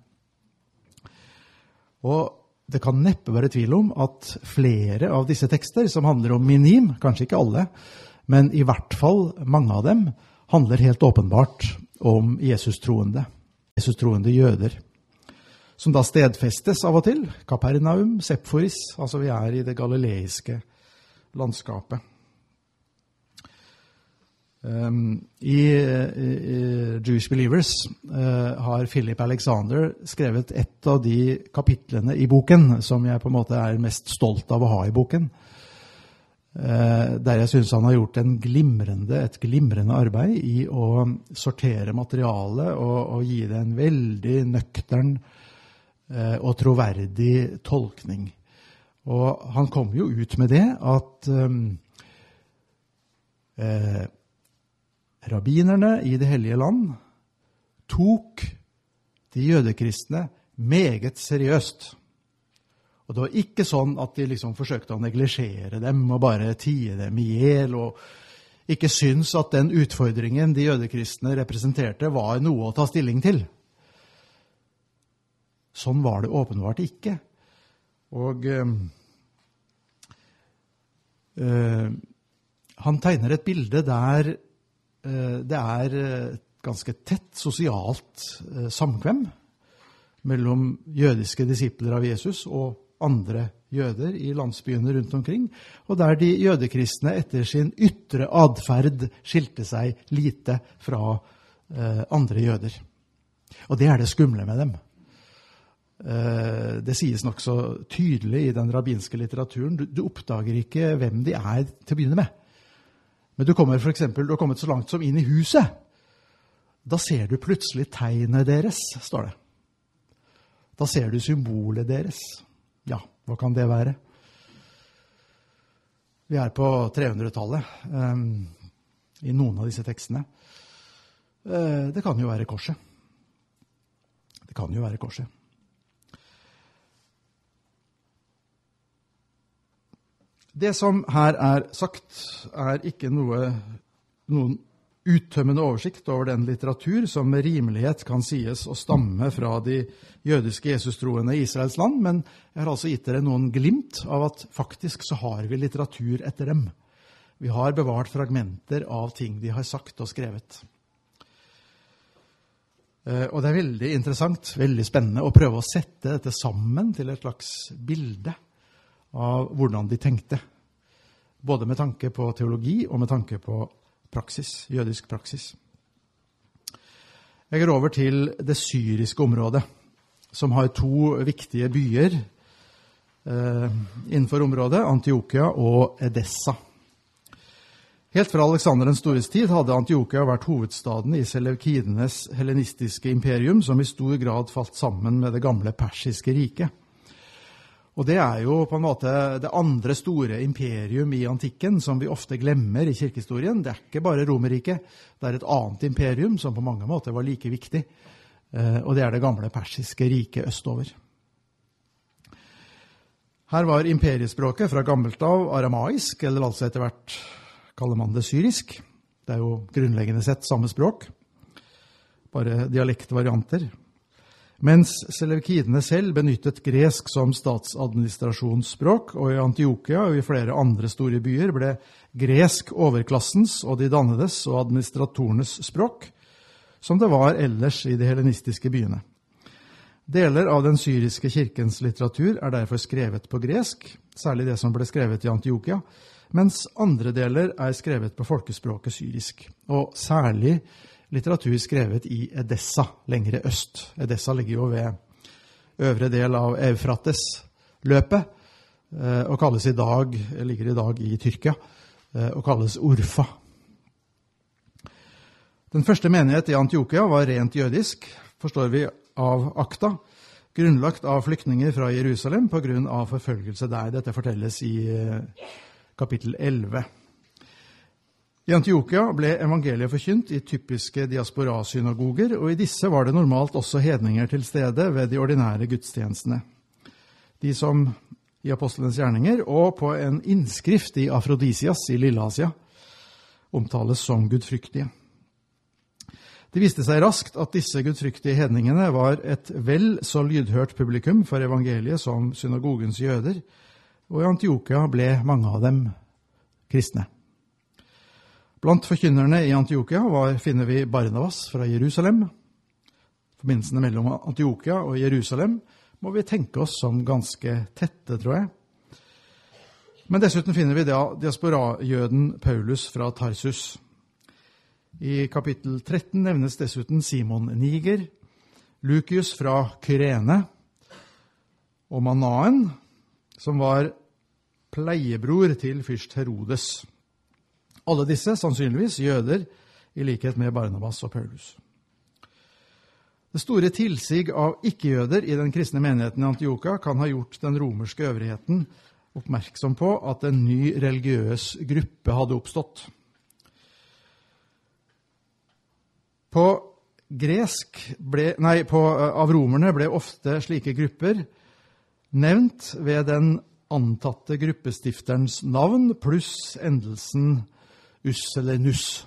Og det kan neppe være tvil om at flere av disse tekster som handler om minim, kanskje ikke alle, men i hvert fall mange av dem, handler helt åpenbart om Jesus-troende, Jesus-troende jøder, som da stedfestes av og til, Kapernaum, Sephoris, altså vi er i det galileiske landskapet. Um, i, i Jewish Believers uh, har Philip Alexander skrevet et av de kapitlene i boken som jeg på en måte er mest stolt av å ha i boken, uh, der jeg synes han har gjort en glimrende, et glimrende arbeid i å sortere materialet og, og gi det en veldig nøktern uh, og troverdig tolkning. Og han kom jo ut med det at um, uh, rabbinerne i det hellige land tok de jødekristne meget seriøst. Og det var ikke sånn at de liksom forsøkte å neglisjere dem og bare tie dem i hjel, og ikke syns at den utfordringen de jødekristne representerte var noe å ta stilling til. Sånn var det åpenbart ikke. Og øh, øh, han tegner et bilde der det er ganske tett sosialt samkvem mellom jødiske disipler av Jesus og andre jøder i landsbyene rundt omkring, og der de jødekristne etter sin ytre adferd skilte seg lite fra eh, andre jøder. Og det er det skumle med dem. Eh, det sies nok så tydelig i den rabbinske litteraturen. Du, du oppdager ikke hvem de er til å begynne med. Men du kommer for eksempel, du har kommet så langt som inn i huset. Da ser du plutselig tegnet deres, står det. Da ser du symbolet deres. Ja, hva kan det være? Vi er på trehundretallet um, i noen av disse tekstene. Uh, det kan jo være korset. Det kan jo være korset. Det som her er sagt, er ikke noe, noen uttømmende oversikt over den litteratur som med rimelighet kan sies å stamme fra de jødiske Jesus-troende i Israels land, men jeg har altså gitt dere noen glimt av at faktisk så har vi litteratur etter dem. Vi har bevart fragmenter av ting de har sagt og skrevet. Og det er veldig interessant, veldig spennende å prøve å sette dette sammen til et slags bilde av hvordan de tenkte, både med tanke på teologi og med tanke på praksis, jødisk praksis. Jeg går over til det syriske området, som har to viktige byer eh, innenfor området, Antiokia og Edessa. Helt fra Alexander den stores tid hadde Antiokia vært hovedstaden i seleukidenes hellenistiske imperium, som i stor grad falt sammen med det gamle persiske riket. Og det er jo på en måte det andre store imperium i antikken som vi ofte glemmer i kirkehistorien. Det er ikke bare Romerriket, det er et annet imperium som på mange måter var like viktig, og det er det gamle persiske riket østover. Her var imperiespråket fra gammelt av aramaisk, eller altså etter hvert kaller man det syrisk. Det er jo grunnleggende sett samme språk, bare dialektvarianter. Mens seleukidene selv benyttet gresk som statsadministrasjonsspråk, og i Antiokia og i flere andre store byer ble gresk overklassens og de dannedes og administratorenes språk, som det var ellers i de hellenistiske byene. Deler av den syriske kirkens litteratur er derfor skrevet på gresk, særlig det som ble skrevet i Antiokia, mens andre deler er skrevet på folkespråket syrisk, og særlig litteratur skrevet i Edessa, lengre øst. Edessa ligger jo ved øvre del av Eufrates-løpet, og kalles i dag, ligger i dag i Tyrkia, og kalles Urfa. Den første menighet i Antiokia var rent jødisk, forstår vi av akta, grunnlagt av flyktninger fra Jerusalem på grunn av forfølgelse der. Dette fortelles i kapittel elleve. I Antiokia ble evangeliet forkynt i typiske diaspora-synagoger, og i disse var det normalt også hedninger til stede ved de ordinære gudstjenestene. De som i apostelens gjerninger og på en innskrift i Afrodisias i Lilleasia omtales som gudfryktige. Det viste seg raskt at disse gudfryktige hedningene var et vel så lydhørt publikum for evangeliet som synagogens jøder, og i Antiokia ble mange av dem kristne. Blant forkynnerne i Antiokia var, finner vi Barnabas fra Jerusalem. Forbindelsene mellom Antiokia og Jerusalem må vi tenke oss som ganske tette, tror jeg. Men dessuten finner vi da diaspora-jøden Paulus fra Tarsus. I kapittel tretten nevnes dessuten Simon Niger, Lukius fra Kyrene og Manaen, som var pleiebror til fyrst Herodes. Alle disse sannsynligvis jøder, i likhet med Barnabas og Paulus. Det store tilsig av ikke-jøder i den kristne menigheten i Antiokia kan ha gjort den romerske øvrigheten oppmerksom på at en ny religiøs gruppe hadde oppstått. På gresk ble, nei, på, av romerne ble ofte slike grupper nevnt ved den antatte gruppestifterens navn pluss endelsen us eller nus.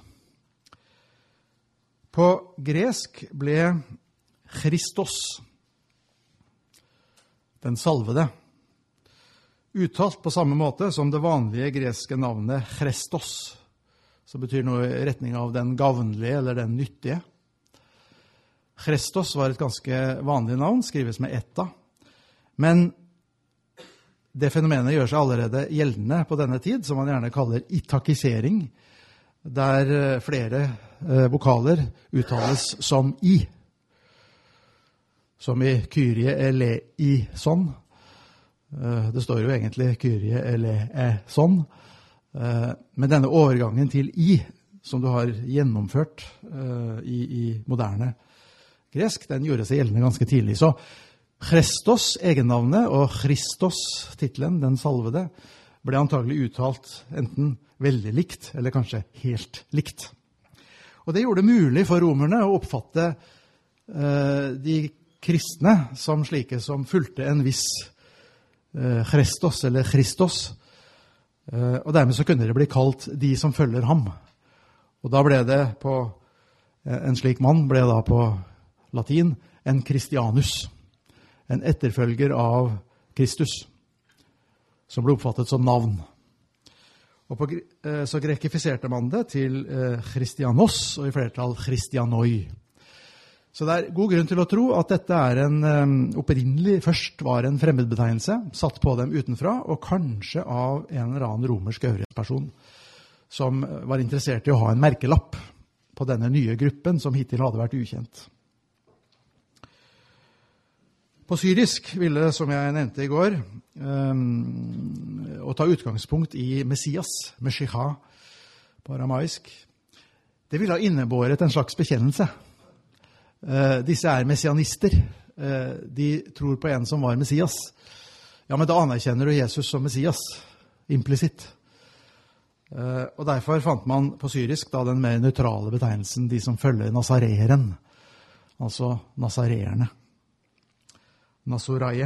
På gresk ble Christos, den salvede, uttalt på samme måte som det vanlige greske navnet Christos, som betyr noe i retning av den gavnlige eller den nyttige. Christos var et ganske vanlig navn, skrives med etta, men det fenomenet gjør seg allerede gjeldende på denne tid, som man gjerne kaller itakisering, der flere vokaler uttales som i. Som i Kyrie eleison. Det står jo egentlig Kyrie eleison. Men denne overgangen til i, som du har gjennomført i, i moderne gresk, den gjorde seg gjeldende ganske tidlig. Så Christos, egennavnet, og Christos, titlen, den salvede, ble antagelig uttalt enten veldig likt, eller kanskje helt likt. Og det gjorde det mulig for romerne å oppfatte eh, de kristne som slike som fulgte en viss eh, Christos, eller Christos, eh, og dermed så kunne det bli kalt de som følger ham. Og da ble det på, eh, en slik mann ble da på latin en Christianus, en etterfølger av Kristus, som ble oppfattet som navn. Og på, så grekifiserte man det til Christianos, og i flertall Christianoi. Så det er god grunn til å tro at dette er en opprinnelig, først var en fremmedbetegnelse, satt på dem utenfra, og kanskje av en eller annen romersk øvrighetsperson, som var interessert i å ha en merkelapp på denne nye gruppen, som hittil hadde vært ukjent. På syrisk ville, som jeg nevnte i går, um, å ta utgangspunkt i Messias, Meshicha, på aramaisk. Det ville ha innebåret en slags bekjennelse. Uh, disse er messianister. Uh, de tror på en som var Messias. Ja, men da anerkjenner du Jesus som Messias, implisitt. Uh, og derfor fant man på syrisk da den mer nøytrale betegnelsen, de som følger Nazareeren, altså Nazareerne. Nasoraie.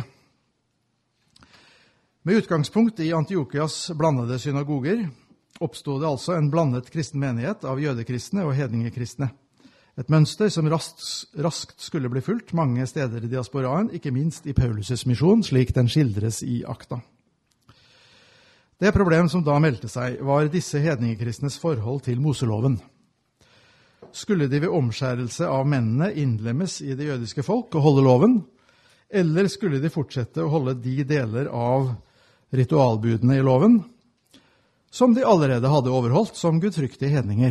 Med utgangspunkt i Antiokias blandede synagoger oppstod det altså en blandet kristen menighet av jødekristne og hedningekristne. Et mønster som raskt, raskt skulle bli fulgt mange steder i diasporaen, ikke minst i Paulus' misjon, slik den skildres i akta. Det problem som da meldte seg, var disse hedningekristnes forhold til Moseloven. Skulle de ved omskjærelse av mennene innlemmes i det jødiske folk og holde loven, eller skulle de fortsette å holde de deler av ritualbudene i loven som de allerede hadde overholdt som gudfryktige hedninger?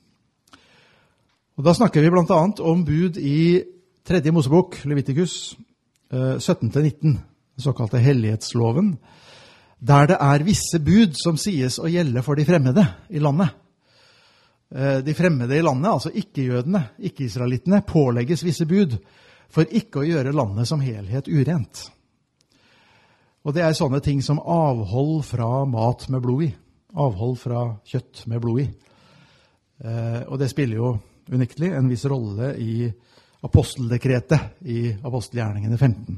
Og da snakker vi blant annet om bud i tredje Mosebok, Leviticus sytten til nitten, den såkalte hellighetsloven, der det er visse bud som sies å gjelde for de fremmede i landet. De fremmede i landet, altså ikke-jødene, ikke-israelittene, pålegges visse bud for ikke å gjøre landet som helhet urent. Og det er sånne ting som avhold fra mat med blod i. Avhold fra kjøtt med blod i. Eh, og det spiller jo uniktlig en viss rolle i aposteldekretet i apostelgjerningene femten.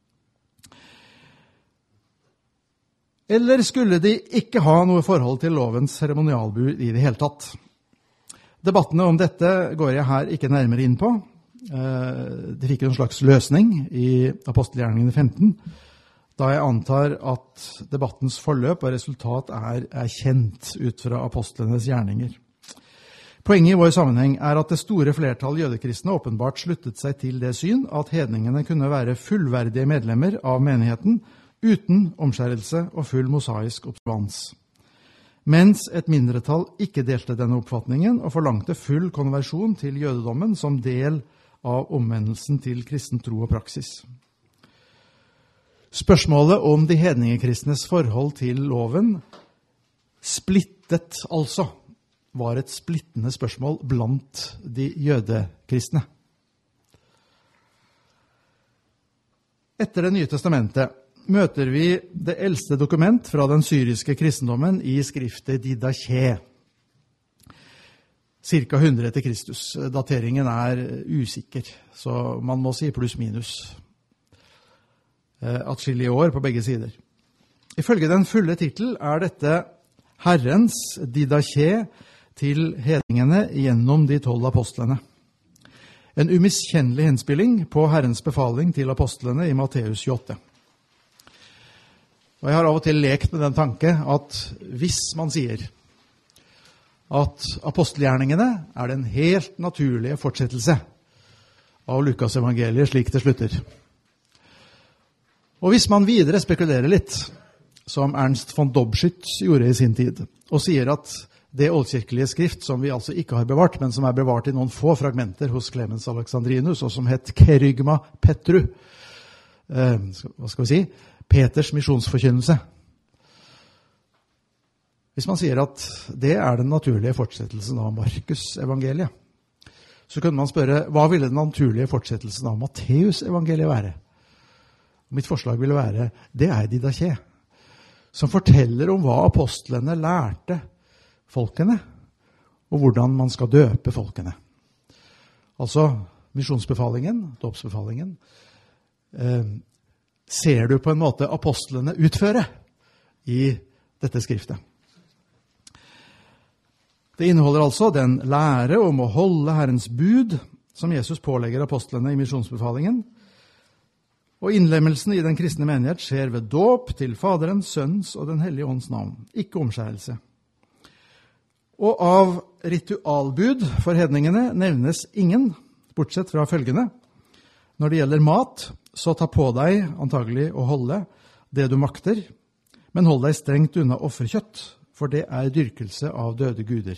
Eller skulle de ikke ha noe forhold til lovens seremonialbud i det hele tatt? Debattene om dette går jeg her ikke nærmere inn på. De fikk en slags løsning i apostelgjerningene femten, da jeg antar at debattens forløp og resultat er, er kjent ut fra apostlenes gjerninger. Poenget i vår sammenheng er at det store flertall jødekristne åpenbart sluttet seg til det syn at hedningene kunne være fullverdige medlemmer av menigheten uten omskjærelse og full mosaisk observans. Mens et mindretall ikke delte denne oppfatningen og forlangte full konversjon til jødedommen som del av omvendelsen til kristen tro og praksis. Spørsmålet om de hedningekristnes forhold til loven splittet altså, var et splittende spørsmål blant de jødekristne. Etter Det nye testamentet møter vi det eldste dokument fra den syriske kristendommen i skriftet Didache, cirka hundre etter Kristus. Dateringen er usikker, så man må si pluss minus. Atskillige år på begge sider. Ifølge den fulle titel er dette Herrens Didache til hedningene gjennom de tolv apostlene. En umiskjennelig henspilling på Herrens befaling til apostlene i Matteus tjueåtte. Og jeg har av og til lekt med den tanke at hvis man sier at apostelgjerningene er den helt naturlige fortsettelse av Lukas evangeliet slik det slutter. Og hvis man videre spekulerer litt, som Ernst von Dobschütz gjorde i sin tid, og sier at det oldkirkelige skrift, som vi altså ikke har bevart, men som er bevart i noen få fragmenter hos Clemens Alexandrinus, og som het Kerygma Petru, eh, hva skal vi si, Peters misjonsforkynnelse. Hvis man sier at det er den naturlige fortsettelsen av Markus evangeliet, så kunne man spørre, hva ville den naturlige fortsettelsen av Matteus evangeliet være? Mitt forslag ville være, det er Didache, som forteller om hva apostlene lærte folkene, og hvordan man skal døpe folkene. Altså, misjonsbefalingen, dåpsbefalingen, eh, ser du på en måte apostlene utføre i dette skriftet. Det inneholder altså den lære om å holde Herrens bud, som Jesus pålegger apostlene i misjonsbefalingen, og innlemmelsen i den kristne menighet skjer ved dåp til Faderens, Sønnens og den hellige ånds navn, ikke omskjærelse. Og av ritualbud for hedningene nevnes ingen, bortsett fra følgende. Når det gjelder mat, så ta på deg antagelig å holde det du makter, men hold deg strengt unna offerkjøtt, for det er dyrkelse av døde guder.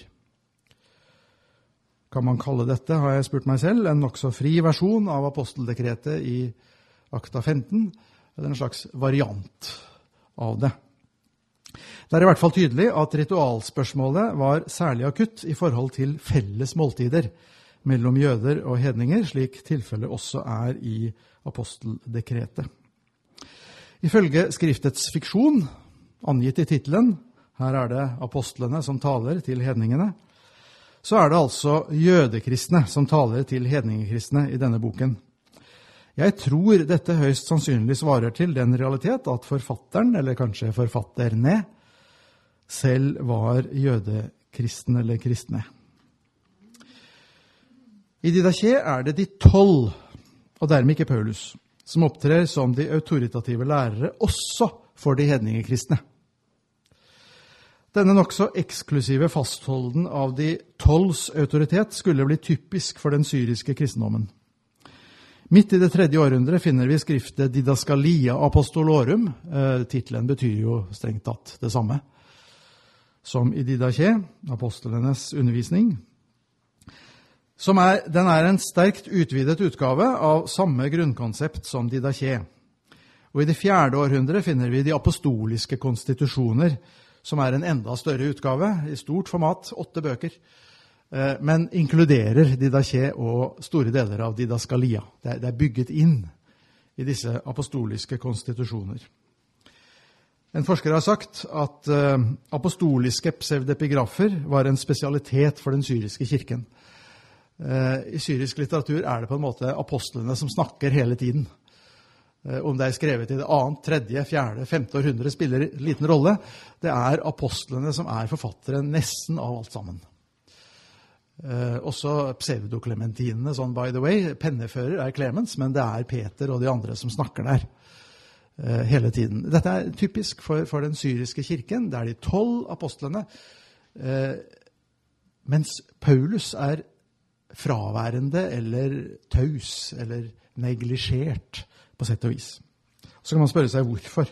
Kan man kalle dette, har jeg spurt meg selv, en nok så fri versjon av aposteldekretet i Akta femten, eller en slags variant av det. Det er i hvert fall tydelig at ritualspørsmålet var særlig akutt i forhold til felles måltider mellom jøder og hedninger, slik tilfellet også er i aposteldekretet. Ifølge skriftets fiksjon, angitt i titelen, her er det apostlene som taler til hedningene, så er det altså jødekristne som taler til hedningekristne i denne boken. Jeg tror dette høyst sannsynlig svarer til den realitet at forfatteren, eller kanskje forfatterne, selv var jødekristne eller kristne. I Didache er det de tolv, og dermed ikke Paulus, som opptrer som de autoritative lærere også for de hedningekristne. Denne nok så eksklusive fastholden av de tolvs autoritet skulle bli typisk for den syriske kristendommen. Midt i det tredje århundre finner vi skriftet Didaskalia Apostolorum. Eh, titelen betyr jo strengt tatt det samme som i Didache, apostlenes undervisning. Som er, den er en sterkt utvidet utgave av samme grunnkonsept som Didache. Og i det fjerde århundre finner vi de apostoliske konstitusjoner, som er en enda større utgave, i stort format, åtte bøker, men inkluderer Didache og store deler av Didaskalia. Det er bygget inn i disse apostoliske konstitusjoner. En forsker har sagt at apostoliske pseudepigrafer var en spesialitet for den syriske kirken. I syrisk litteratur er det på en måte apostlene som snakker hele tiden. Om det er skrevet i det annet, tredje, fjerde, femte århundre spiller liten rolle. Det er apostlene som er forfattere nesten av alt sammen. Eh, også pseudoklementinene, sånn by the way, pennefører er Clemens, men det er Peter og de andre som snakker der eh, hele tiden. Dette er typisk for, for den syriske kirken, det er de tolv apostlene, eh, mens Paulus er fraværende eller taus eller neglisjert på sett og vis. Så kan man spørre seg hvorfor.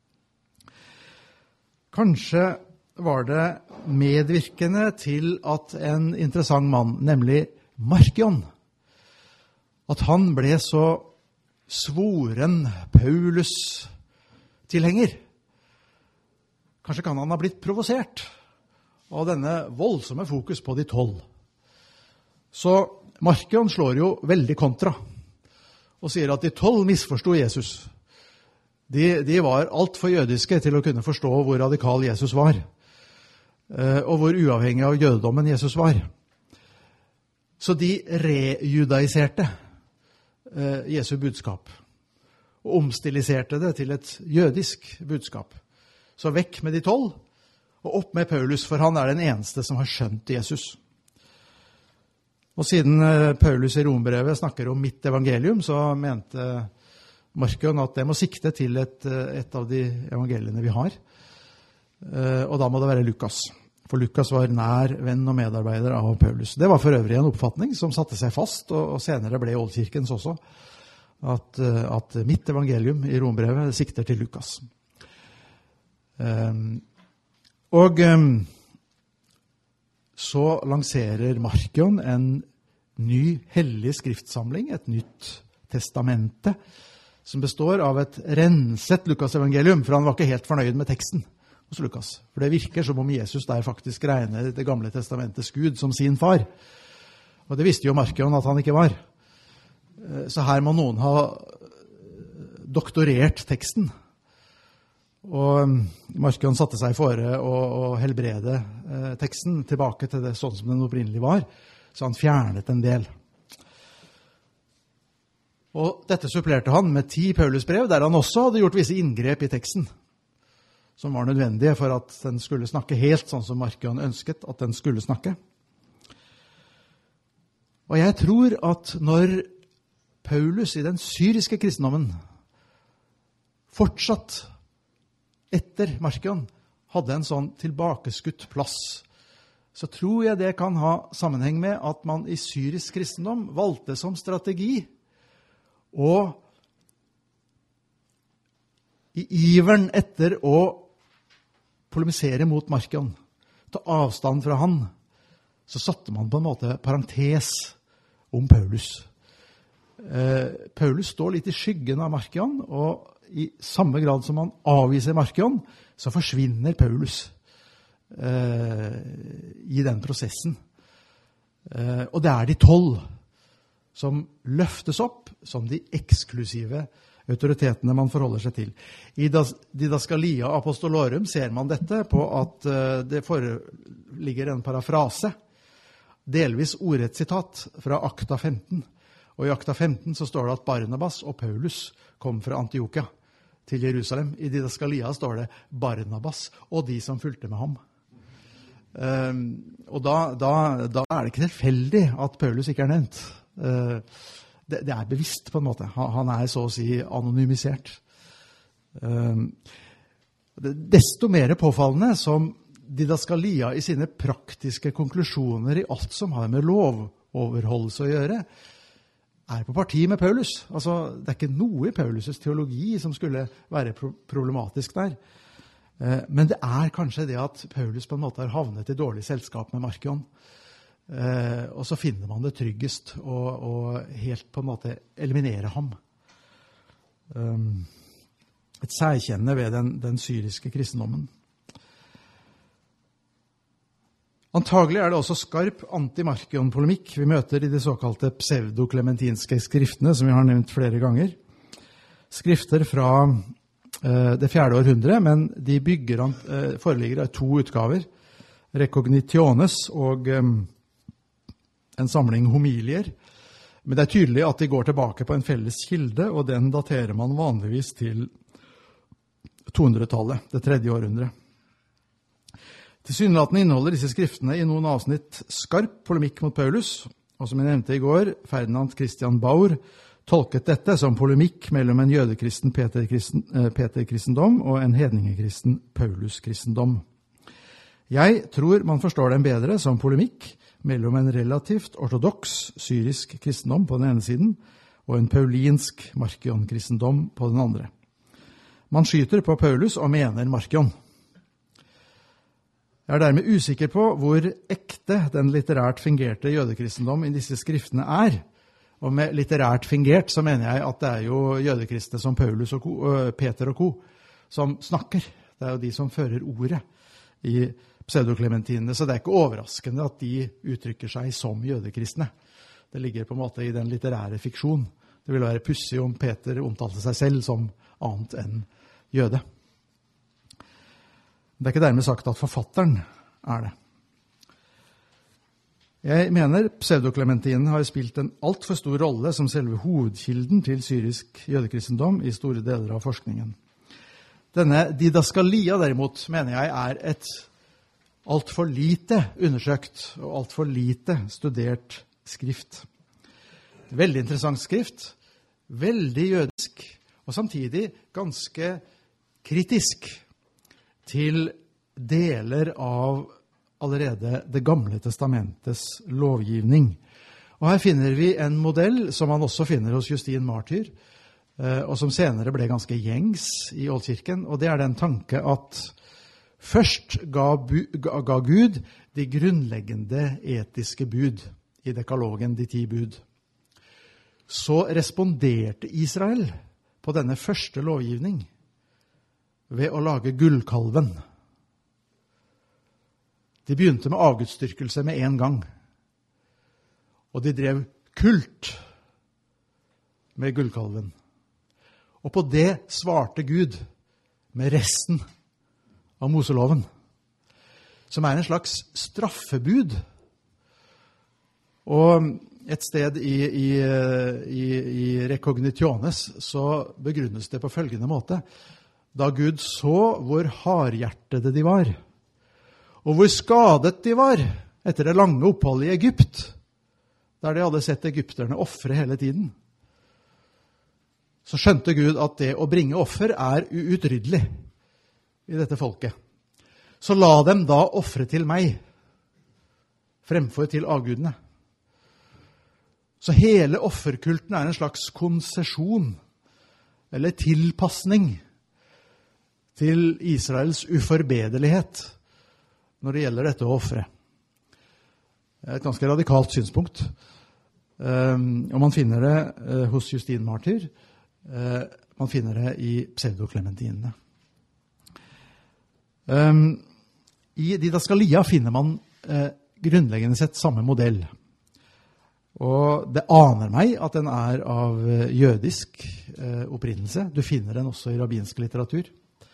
Kanskje var det medvirkende til at en interessant mann, nemlig Markion, at han ble så svoren Paulus-tilhenger. Kanskje kan han ha blitt provosert av denne voldsomme fokus på de tolv. Så Markion slår jo veldig kontra og sier at de tolv misforstod Jesus. De, de var alt for jødiske til å kunne forstå hvor radikal Jesus var, og hvor uavhengig av jødedommen Jesus var. Så de rejudaiserte Jesu budskap, og omstiliserte det til et jødisk budskap. Så vekk med de tolv, og opp med Paulus, for han er den eneste som har skjønt Jesus. Og siden Paulus i Rombrevet snakker om mitt evangelium, så mente Markion at det må sikte til et, et av de evangeliene vi har. Og da må det være Lukas. For Lukas var nær venn og medarbeider av Paulus. Det var for øvrig en oppfatning som satte seg fast, og senere ble Oldkirkens også, at, at mitt evangelium i Rombrevet sikter til Lukas. Um, og um, så lanserer Markion en ny hellig skriftsamling, et nytt testamente, som består av et renset Lukas-evangelium, for han var ikke helt fornøyd med teksten hos Lukas. For det virker som om Jesus der faktisk regner det gamle testamentets Gud som sin far. Og det visste jo Markion at han ikke var. Så her må noen ha doktorert teksten. Og Markion satte seg fore å, å helbrede eh, teksten tilbake til det sånn som den opprinnelig var, så han fjernet en del. Og dette supplerte han med ti Paulusbrev, der han også hadde gjort visse inngrep i teksten, som var nødvendige for at den skulle snakke helt sånn som Markion ønsket at den skulle snakke. Og jeg tror at når Paulus i den syriske kristendommen fortsatt etter Markion hadde en sånn tilbakeskutt plass, så tror jeg det kan ha sammenheng med at man i syrisk kristendom valgte som strategi å i iveren etter å polemisere mot Markion, ta avstand fra han, så satte man på en måte parentes om Paulus. Eh, Paulus står litt i skyggen av Markion, og i samme grad som han avviser Markion, så forsvinner Paulus eh, i den prosessen. Eh, og det er de tolv som løftes opp som de eksklusive autoritetene man forholder seg til. I Didaskalia Apostolorum ser man dette på at eh, det foreligger en parafrase, delvis ordrett sitat fra Akta femten. Og i Akta femten så står det at Barnabas og Paulus kom fra Antiokia til Jerusalem. I Didaskalia står det Barnabas og de som fulgte med ham. Um, og da, da, da er det ikke tilfeldig at Paulus ikke er nevnt. Uh, det, det er bevisst på en måte. Han, han er så å si anonymisert. Um, det, desto mer påfallende som Didaskalia i sine praktiske konklusjoner i alt som har med lovoverholdelse å gjøre, er på parti med Paulus. Altså, det er ikke noe i Paulus' teologi som skulle være pro- problematisk der. Eh, men det er kanskje det at Paulus på en måte har havnet i dårlig selskap med Markion. Eh, og så finner man det tryggest å, å helt på en måte eliminere ham. Um, et særkjenne ved den, den syriske kristendommen. Antagelig er det også skarp anti-Markion-polemikk vi møter i de såkalte pseudoklementinske skriftene, som vi har nevnt flere ganger. Skrifter fra eh, det fjerde århundre, men de bygger, eh, foreligger av to utgaver, Recognitiones og eh, en samling homilier. Men det er tydelig at de går tilbake på en felles kilde, og den daterer man vanligvis til tohundretallet, det tredje århundre. Tilsynelatende inneholder disse skriftene i noen avsnitt skarp polemikk mot Paulus, og som jeg nevnte i går, Ferdinand Christian Baur tolket dette som polemikk mellom en jødekristen Peter-kristen, eh, Peter-kristendom og en hedningekristen Paulus-kristendom. Jeg tror man forstår dem bedre som polemikk mellom en relativt ortodoks syrisk kristendom på den ene siden og en paulinsk Markion-kristendom på den andre. Man skyter på Paulus og mener Markion. Jeg er dermed usikker på hvor ekte den litterært fingerte jødekristendom i disse skriftene er. Og med litterært fingert så mener jeg at det er jo jødekristne som Paulus og ko, Peter og ko som snakker. Det er jo de som fører ordet i pseudoklementinene, så det er ikke overraskende at de uttrykker seg som jødekristne. Det ligger på en måte i den litterære fiksjon. Det ville være pussig om Peter omtalte seg selv som annet enn jøde. Det er ikke dermed sagt at forfatteren er det. Jeg mener pseudoklementinen har spilt en alt for stor rolle som selve hovedkilden til syrisk jødekristendom i store deler av forskningen. Denne didaskalia derimot mener jeg er et alt for lite undersøkt og alt for lite studert skrift. Veldig interessant skrift, veldig jødisk og samtidig ganske kritisk til deler av allerede det gamle testamentets lovgivning. Og her finner vi en modell som man også finner hos Justin Martyr, og som senere ble ganske gjengs i Oldkirken, og det er den tanke at Først ga, bu, ga, ga Gud de grunnleggende etiske bud i dekalogen, de ti bud. Så responderte Israel på denne første lovgivning ved å lage gullkalven. De begynte med avgudsdyrkelse med en gang. Og de drev kult med gullkalven. Og på det svarte Gud med resten av Moseloven, som er en slags straffebud. Og et sted i, i, i, i Recognitiones så begrunnes det på følgende måte. Da Gud så hvor hardhjertede de var, og hvor skadet de var etter det lange oppholdet i Egypt, der de hadde sett egypterne offre hele tiden, så skjønte Gud at det å bringe offer er uutryddelig i dette folket. Så la dem da offre til meg, fremfor til avgudene. Så hele offerkulten er en slags konsesjon, eller tilpassning, til Israels uforbederlighet når det gjelder dette å offre. Det er et ganske radikalt synspunkt. Um, og man finner det uh, hos Justin Martyr. Uh, man finner det i pseudoklementinene. Um, I Didaskalia finner man uh, grunnleggende sett samme modell. Og det aner meg at den er av uh, jødisk uh, opprinnelse. Du finner den også i rabbinsk litteratur.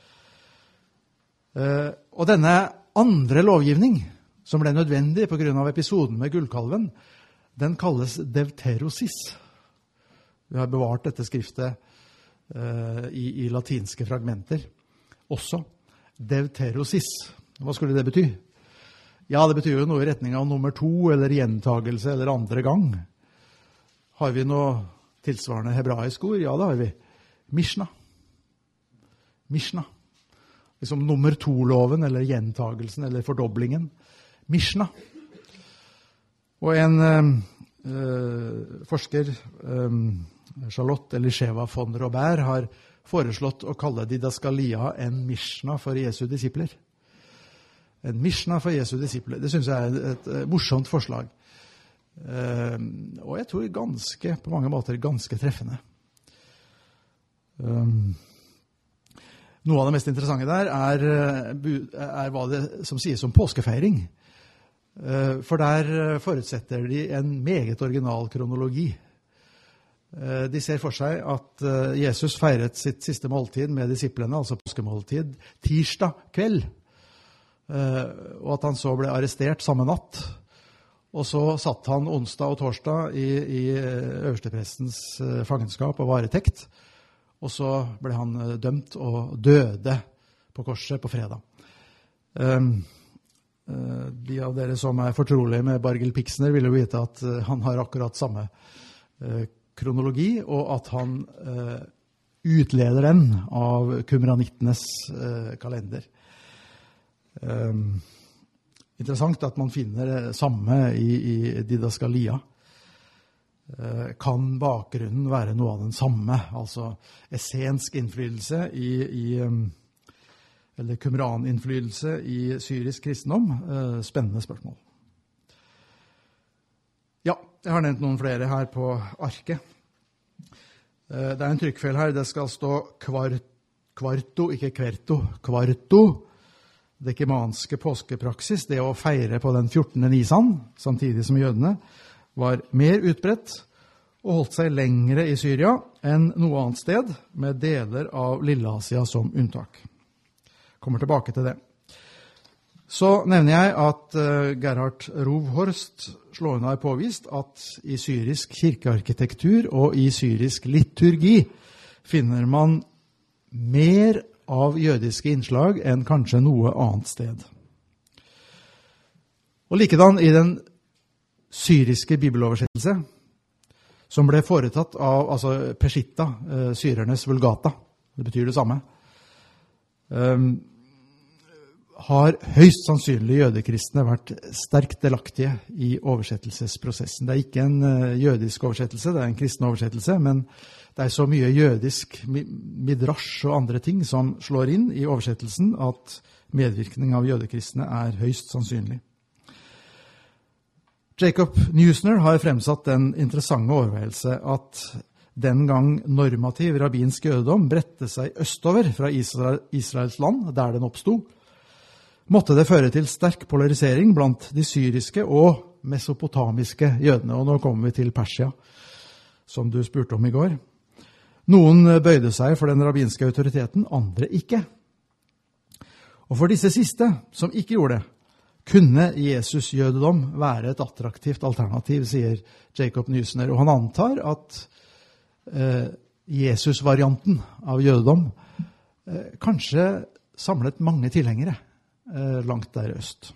Uh, og denne andre lovgivning, som ble nødvendig på grunn av episoden med gullkalven, den kalles deuterosis. Vi har bevart dette skriftet uh, i, i latinske fragmenter også. Deuterosis. Hva skulle det bety? Ja, det betyr jo noe i retning av nummer to, eller gjentagelse, eller andre gang. Har vi noe tilsvarende hebraisk ord? Ja, det har vi. Mishnah. Mishnah. Liksom nummer to-loven, eller gjentagelsen, eller fordoblingen. Mishnah. Og en øh, forsker, øh, Charlotte Elisheva von Robert, har foreslått å kalle Didaskalia en Mishnah for Jesu disipler. En Mishnah for Jesu disipler. Det synes jeg er et, et, et morsomt forslag. Uh, og jeg tror ganske, på mange måter, ganske treffende. Um, noe av det mest interessante der er, er hva det som sies om påskefeiring. Uh, for der forutsetter de en meget original kronologi. Uh, de ser for seg at uh, Jesus feiret sitt siste måltid med disiplene, altså påskemåltid, tirsdag kveld. Uh, og at han så ble arrestert samme natt. Og så satt han onsdag og torsdag i, i øversteprestens uh, fangenskap og varetekt. Og så ble han uh, dømt og døde på korset på fredag. Um, uh, de av dere som er fortrolige med Bargil Pixner vil jo vite at uh, han har akkurat samme uh, kronologi, og at han uh, utleder den av kumranittenes uh, kalender. Um, interessant at man finner det samme i, i Didaskalia. Uh, kan bakgrunnen være noe av den samme, altså essensk innflytelse i, i um, eller kumran-innflytelse i syrisk kristendom? Uh, spennende spørsmål. Ja, jeg har nevnt noen flere her på arket. Uh, det er en trykkfeil her, det skal stå kvart, kvarto, ikke kverto, kvarto. Det kemanske påskepraksis, det å feire på den fjortende Nisan, samtidig som jødene, var mer utbredt og holdt seg lengre i Syria enn noe annet sted, med deler av Lille-Asia som unntak. Kommer tilbake til det. Så nevner jeg at uh, Gerhard Rovhorst slående har påvist at i syrisk kirkearkitektur og i syrisk liturgi finner man mer av jødiske innslag enn kanskje noe annet sted. Og likedan i den syriske bibeloversettelse, som ble foretatt av altså Peshitta, uh, syrernes vulgata, det betyr det samme. Um, har høyst sannsynlig jødekristne vært sterkt delaktige i oversettelsesprosessen. Det er ikke en jødisk oversettelse, det er en kristen oversettelse, men det er så mye jødisk midrash og andre ting som slår inn i oversettelsen at medvirkning av jødekristne er høyst sannsynlig. Jacob Neusner har fremsatt den interessante overveielse at den gang normativ rabbinsk jødedom bredte seg østover fra Israel, Israels land, der den oppstod, måtte det føre til sterk polarisering blant de syriske og mesopotamiske jødene. Og nå kommer vi til Persia, som du spurte om i går. Noen bøyde seg for den rabbinske autoriteten, andre ikke. Og for disse siste, som ikke gjorde det, kunne Jesus-jødedom være et attraktivt alternativ, sier Jacob Neusner. Og han antar at eh, Jesus-varianten av jødedom eh, kanskje samlet mange tilhengere eh, langt der øst.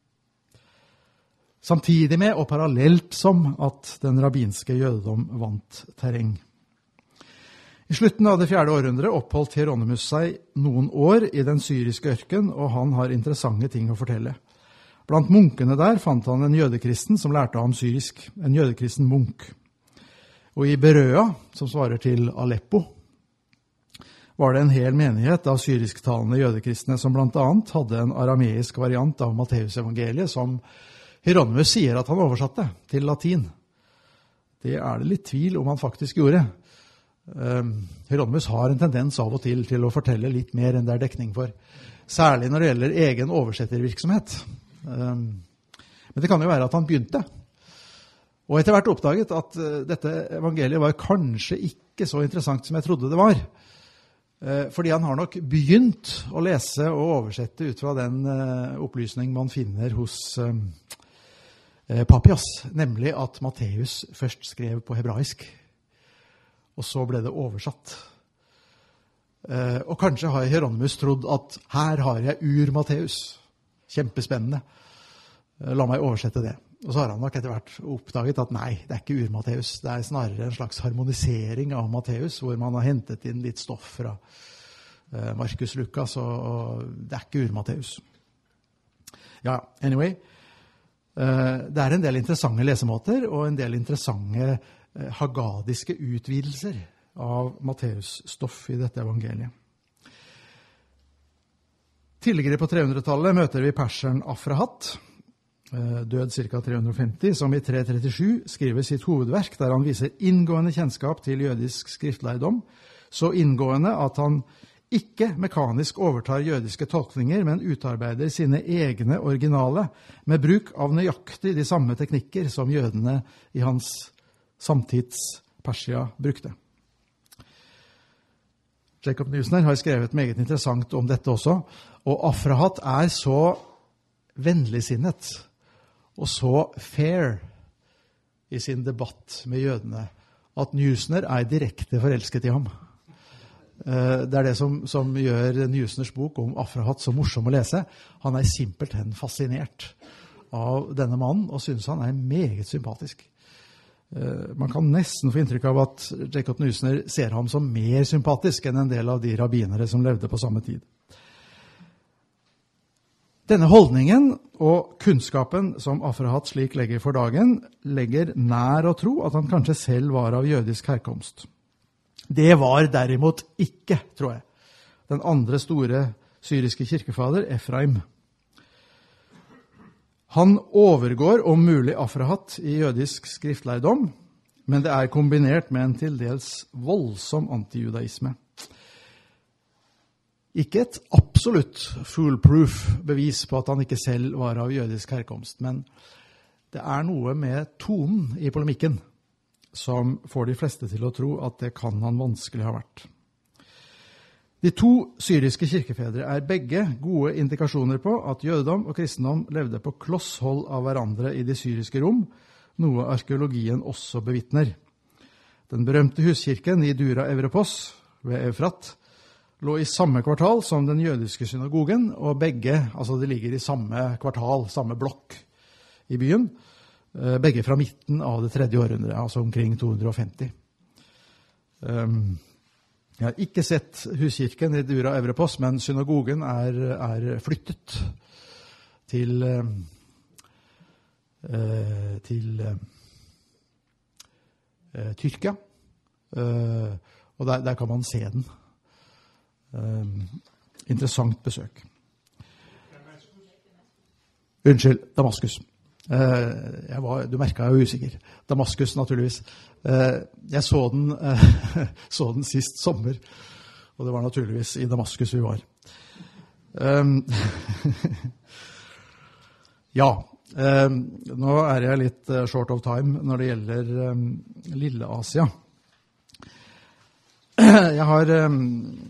Samtidig med og parallelt som at den rabbinske jødedom vant terreng. I slutten av det fjerde århundret oppholdt Hieronymus seg noen år i den syriske ørken, og han har interessante ting å fortelle. Blant munkene der fant han en jødekristen som lærte ham syrisk, en jødekristen munk. Og i Berøa, som svarer til Aleppo, var det en hel menighet av syrisktalende jødekristne som blant annet hadde en arameisk variant av Matteusevangeliet, som Hieronymus sier at han oversatte til latin. Det er det litt tvil om han faktisk gjorde. Um, Hieronymus har en tendens av og til til å fortelle litt mer enn det er dekning for, særlig når det gjelder egen oversettervirksomhet. Um, men det kan jo være at han begynte, og etter hvert oppdaget at uh, dette evangeliet var kanskje ikke så interessant som jeg trodde det var, uh, fordi han har nok begynt å lese og oversette ut fra den uh, opplysning man finner hos um, uh, Papias, nemlig at Matteus først skrev på hebraisk, og så ble det oversatt. Eh, og kanskje har Hieronymus trodd at her har jeg ur Matteus. Kjempespennende. Eh, la meg oversette det. Og så har han nok etter hvert oppdaget at nei, det er ikke ur Matteus. Det er snarere en slags harmonisering av Matteus, hvor man har hentet inn litt stoff fra eh, Markus Lukas, og, og det er ikke ur Matteus. Ja, anyway. Eh, det er en del interessante lesemåter, og en del interessante hagadiske utvidelser av Matteus stoff i dette evangeliet. Tidligere på trehundretallet møter vi perseren Afrahat, død ca. tre hundre og femti, som i tre trettisju skriver sitt hovedverk, der han viser inngående kjennskap til jødisk skriftlærdom, så inngående at han ikke mekanisk overtar jødiske tolkninger, men utarbeider sine egne originale, med bruk av nøyaktig de samme teknikker som jødene i hans samtids Persia brukte. Jacob Neusner har skrevet meget interessant om dette også, og Afrahat er så vennligsinnet og så fair i sin debatt med jødene at Neusner er direkte forelsket i ham. Det er det som, som gjør Neusners bok om Afrahat så morsom å lese. Han er simpelthen fascinert av denne mannen og synes han er meget sympatisk. Man kan nesten få inntrykk av at Jacob Neusner ser ham som mer sympatisk enn en del av de rabbinere som levde på samme tid. Denne holdningen og kunnskapen som Afrahat slik legger for dagen, legger nær å tro at han kanskje selv var av jødisk herkomst. Det var derimot ikke, tror jeg, den andre store syriske kirkefader, Efraim. Han overgår om mulig Afrahat i jødisk skriftlærdom, men det er kombinert med en til dels voldsom antijudaisme. Ikke et absolutt foolproof bevis på at han ikke selv var av jødisk herkomst, men det er noe med tonen i polemikken som får de fleste til å tro at det kan han vanskelig ha vært. De to syriske kirkefedre er begge gode indikasjoner på at jødedom og kristendom levde på klosshold av hverandre i de syriske rom, noe arkeologien også bevitner. Den berømte huskirken i Dura Evropos ved Eufrat lå i samme kvartal som den jødiske synagogen, og begge, altså de ligger i samme kvartal, samme blokk i byen, begge fra midten av det tredje århundret, altså omkring to hundre og femti. Um, Jeg har ikke sett huskirken i Dura Evropos, men synagogen er, er flyttet til, eh, til eh, Tyrkia, eh, og der, der kan man se den. Eh, interessant besøk. Unnskyld, Damaskus. Eh, jeg var, du merket jeg var usikker. Damaskus, naturligvis. Eh, jeg så den, eh, så den sist sommer, og det var naturligvis i Damaskus vi var. Um, ja, um, nå er jeg litt uh, short of time når det gjelder um, Lille Asia. Jeg har... Um,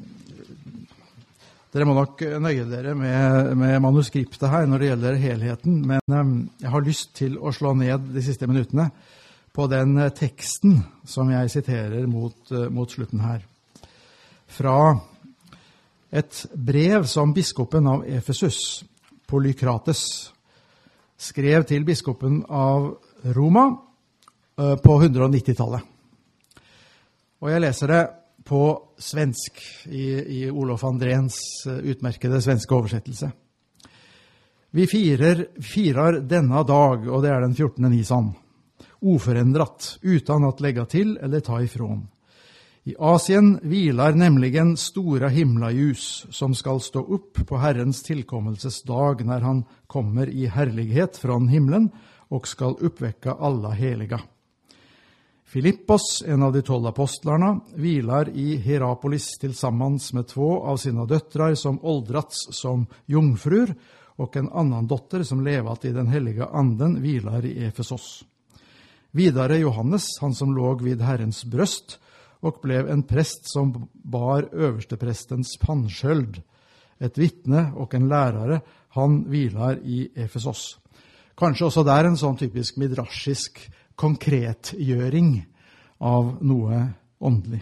Dere må nok nøye dere med, med manuskriptet her når det gjelder helheten, men um, jeg har lyst til å slå ned de siste minuttene på den uh, teksten som jeg siterer mot, uh, mot slutten her. Fra et brev som biskopen av Efesus, Polykrates, skrev til biskopen av Roma uh, på hundre-og-nitti-tallet. Og jeg leser det på svensk, i, i Olof Andréns utmerkede svenske oversettelse. Vi firer, firar denna dag, og det er den fjortende Nisan, uforendrat, utan att lägga till eller ta ifrån. I Asien vilar nämligen stora himlaljus som skal stå upp på Herrens tillkommelses dag när han kommer i härlighet från himlen och skal uppväcka alla heliga. Filippos, en av de tolv apostlarna, vilar i Hierapolis tillsammans med två av sina döttrar som åldrats som jungfrur och en annan dotter som levat i den heliga anden vilar i Efesos. Vidare Johannes, han som låg vid Herrens bröst och blev en präst som bar översteprästens pannsköld, ett vittne och en lärare, han vilar i Efesos. Kanskje også der en sånn typisk midrasjisk konkretgjøring av noe åndelig.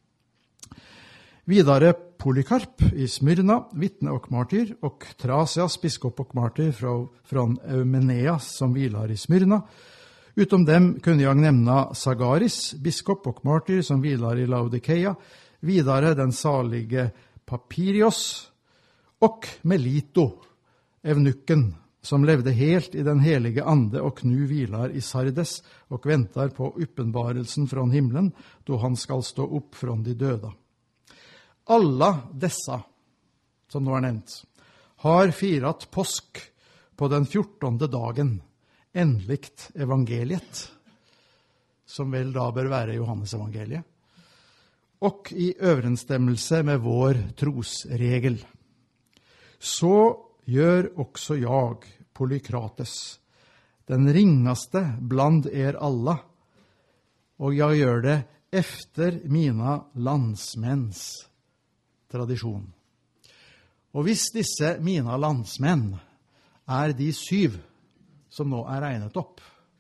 Vidare Polykarp i Smyrna, vittne och martyr, och Trasias, biskop och martyr från Eumeneas som vilar i Smyrna. Utom dem kunde jag nämna Sagaris, biskop och martyr som vilar i Laodikeia, vidare den salige Papirios och Melito, evnukken, som levde helt i den helige ande och nu vilar i Sardes och väntar på uppenbarelsen från himlen då han skal stå upp från de döda. Alla dessa, som nå er nevnt, har firat påsk på den fjortonde dagen, endelikt evangeliet, som vel da bør være Johannes evangeliet, och i överensstämmelse med vår trosregel. Så gör också jag, Polykrates, den ringaste bland er alla, och jag gör det efter mina landsmäns tradisjon. Og hvis disse mina landsmenn er de syv som nå er regnet opp,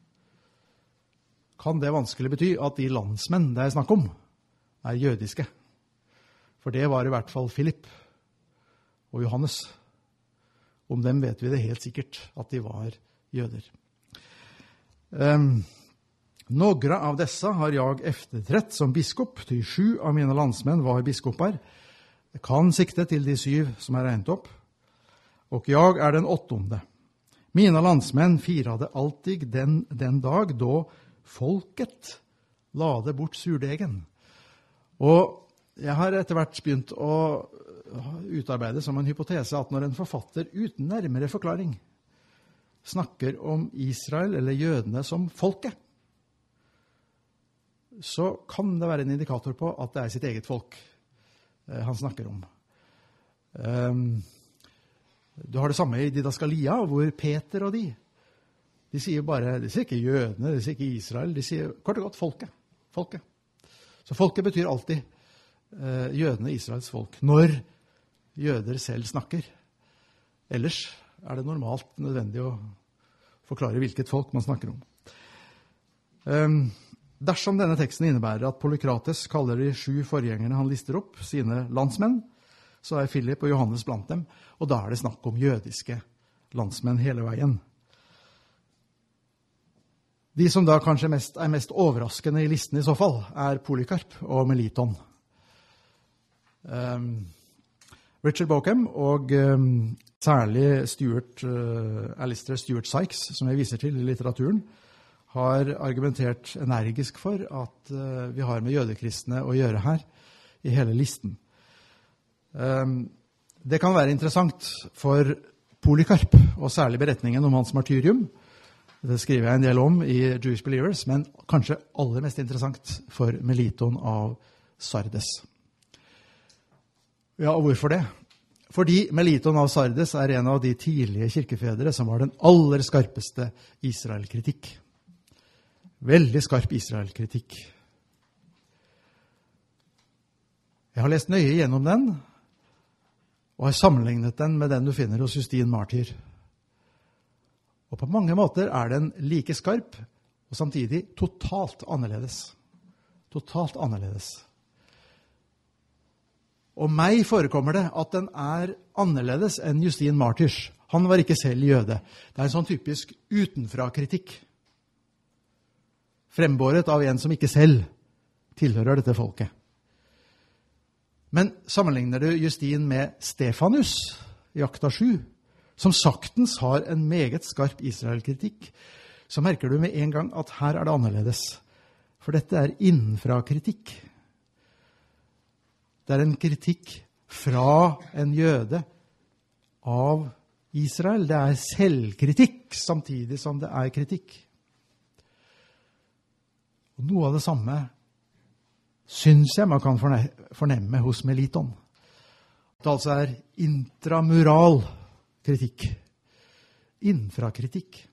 kan det vanskelig bety at de landsmenn det er snakk om er jødiske. For det var i hvert fall Philip og Johannes. Om dem vet vi det helt sikkert at de var jøder. Um, Några av dessa har jag efterträtt som biskop, till sju av mina landsmän var biskopar. Det kan sikte til de syv som er regnet opp, og jeg er den åttonde. Mina landsmenn firade alltid den, den dag då folket lade bort surdegen. Og jeg har etter hvert begynt å utarbeide som en hypotese at når en forfatter uten nærmere forklaring snakker om Israel eller jødene som folket, så kan det være en indikator på at det er sitt eget folk han snakker om. Um, du har det samme i Didaskalia, hvor Peter og de, de sier bare, de sier ikke jødene, de sier ikke Israel, de sier kort og godt folket. folket. Så folket betyr alltid uh, jødene, Israels folk, når jøder selv snakker. Ellers er det normalt nødvendig å forklare hvilket folk man snakker om. Um, Dersom denne teksten innebærer at Polykrates kaller de sju forgjengerne han lister opp sine landsmenn, så er Philip og Johannes blant dem, og da er det snakk om jødiske landsmenn hele veien. De som da kanskje mest, er mest overraskende i listen i så fall, er Polykarp og Meliton. Um, Richard Bauckham og um, særlig Stuart, uh, Alistair Stuart Sykes, som jeg viser til i litteraturen, har argumentert energisk for at uh, vi har med jødekristne å gjøre her i hele listen. Um, det kan være interessant for Polycarp, og særlig beretningen om hans martyrium. Det skriver jeg en del om i Jewish Believers, men kanskje aller mest interessant for Meliton av Sardes. Ja, og hvorfor det? Fordi Meliton av Sardes er en av de tidlige kirkefedre som var den aller skarpeste Israel-kritikk. Veldig skarp Israel-kritikk. Jeg har lest nøye gjennom den, og har sammenlignet den med den du finner hos Justin Martyr. Og på mange måter er den like skarp, og samtidig totalt annerledes. Totalt annerledes. Og meg forekommer det at den er annerledes enn Justin Martyrs. Han var ikke selv jøde. Det er en sånn typisk utenfra-kritikk. Frembåret av en som ikke selv tilhører dette folket. Men sammenligner du Justin med Stefanus i Akta sju, som saktens har en meget skarp Israel-kritikk, så merker du med en gang at her er det annerledes. For dette er innenfra-kritikk. Det er en kritikk fra en jøde av Israel. Det er selvkritikk samtidig som det er kritikk. Og noe av det samme syns jeg man kan fornemme hos Meliton. Det altså er intramural kritikk. Innenfra-kritikk.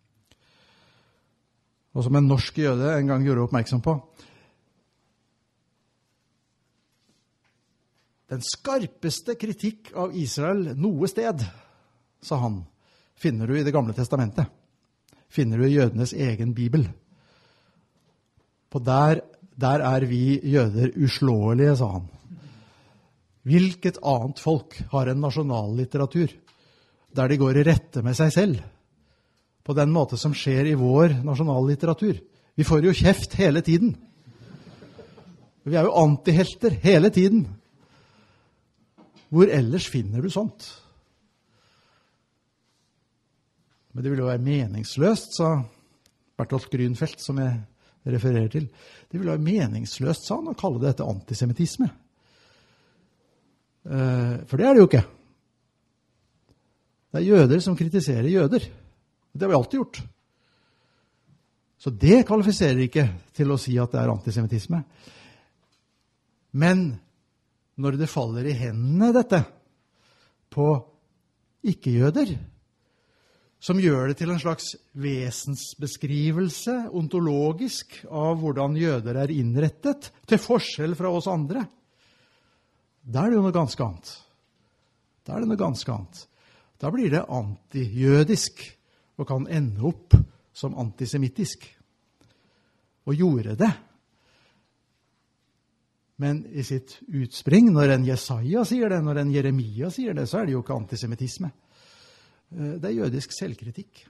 Og som en norsk jøde en gang gjorde oppmerksom på, den skarpeste kritikk av Israel noe sted, sa han, finner du i Det gamle testamentet. Finner du i jødenes egen bibel. For der, der er vi jøder uslåelige, sa han. Hvilket annet folk har en nasjonallitteratur der de går i rette med seg selv, på den måte som skjer i vår nasjonallitteratur? Vi får jo kjeft hele tiden. Vi er jo antihelter hele tiden. Hvor ellers finner du sånt? Men det vil jo være meningsløst, sa Bertolt Grünfeld, som jeg refererer til. Det vil være meningsløst, sa han, å kalle dette antisemitisme. For det er det jo ikke. Det er jøder som kritiserer jøder. Det har vi alltid gjort. Så det kvalifiserer ikke til å si at det er antisemitisme. Men når det faller i hendene dette på ikke-jøder, som gjør det til en slags vesensbeskrivelse, ontologisk, av hvordan jøder er innrettet, til forskjell fra oss andre, da er det jo noe ganske annet. Da er det noe ganske annet. Da blir det antijødisk, og kan ende opp som antisemittisk. Og gjorde det. Men i sitt utspring, når en Jesaja sier det, når en Jeremia sier det, så er det jo ikke antisemitisme. Det er jødisk selvkritikk.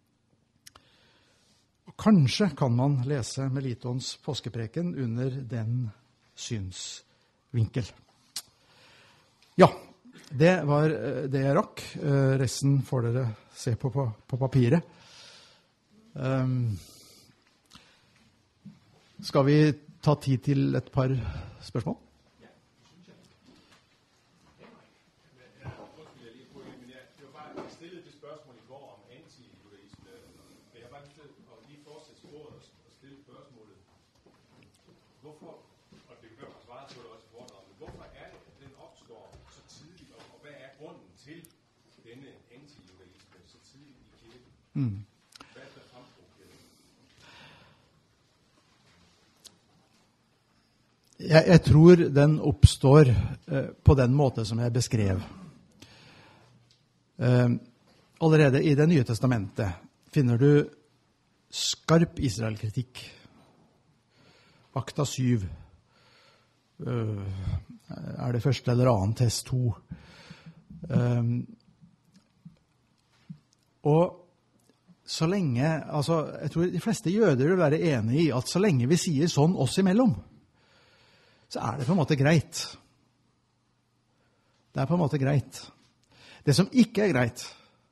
Og kanskje kan man lese Melitons påskepreken under den synsvinkel. Ja, det var det jeg rakk. Resten får dere se på på, på papiret. Um, skal vi ta tid til et par spørsmål? Mm. Jeg, jeg tror den oppstår eh, på den måte som jeg beskrev. Eh, allerede i Det nye testamentet finner du skarp Israel-kritikk. Akta syv eh, er det første eller annet, test to. Eh, og så lenge, altså, jeg tror de fleste jøder vil være enige i at så lenge vi sier sånn oss imellom, så er det på en måte greit. Det er på en måte greit. Det som ikke er greit,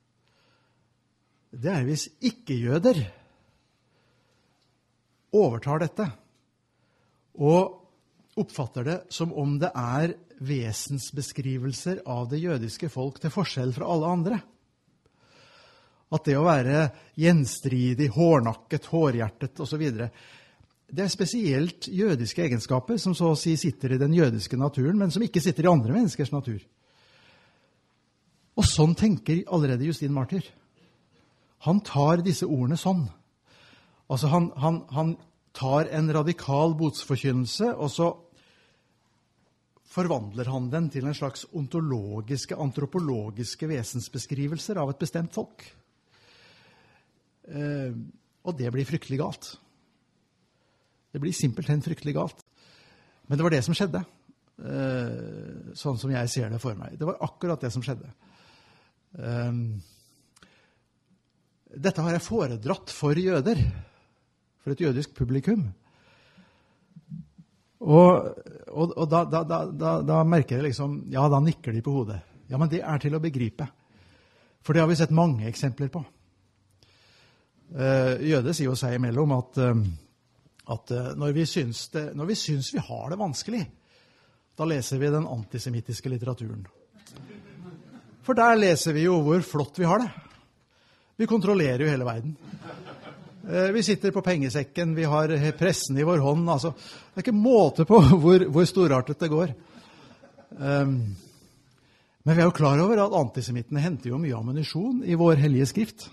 det er hvis ikke-jøder overtar dette og oppfatter det som om det er vesensbeskrivelser av det jødiske folk til forskjell fra alle andre. At det å være gjenstridig, hårnakket, hårhjertet og så videre, det er spesielt jødiske egenskaper som så å si sitter i den jødiske naturen, men som ikke sitter i andre menneskers natur. Og sånn tenker allerede Justin Martyr. Han tar disse ordene sånn. Altså han, han, han tar en radikal botsforkynnelse, og så forvandler han den til en slags ontologiske, antropologiske vesensbeskrivelser av et bestemt folk. Eh, og det blir fryktelig galt. Det blir simpelthen fryktelig galt. Men det var det som skjedde, eh, sånn som jeg ser det for meg. Det var akkurat det som skjedde. Eh, dette har jeg foredratt for jøder, for et jødisk publikum. Og, og, og da, da, da, da, da merker jeg liksom, ja, da nikker de på hodet. Ja, men det er til å begripe. For det har vi sett mange eksempler på. Uh, jøder sier jo seg imellom at, uh, at uh, når, vi syns det, når vi syns vi har det vanskelig, da leser vi den antisemittiske litteraturen. For der leser vi jo hvor flott vi har det. Vi kontrollerer jo hele verden. Uh, vi sitter på pengesekken, vi har pressen i vår hånd. Altså, det er ikke måte på hvor, hvor storartet det går. Um, men vi er jo klar over at antisemittene henter jo mye ammunisjon i vår hellige skrift.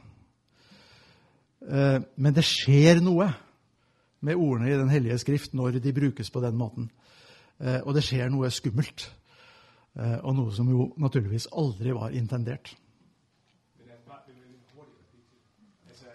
Men det skjer noe med ordene i den hellige skrift når de brukes på den måten. Og det skjer noe skummelt, og noe som jo naturligvis aldri var intendert. Men det er bare det er hurtigt. Altså,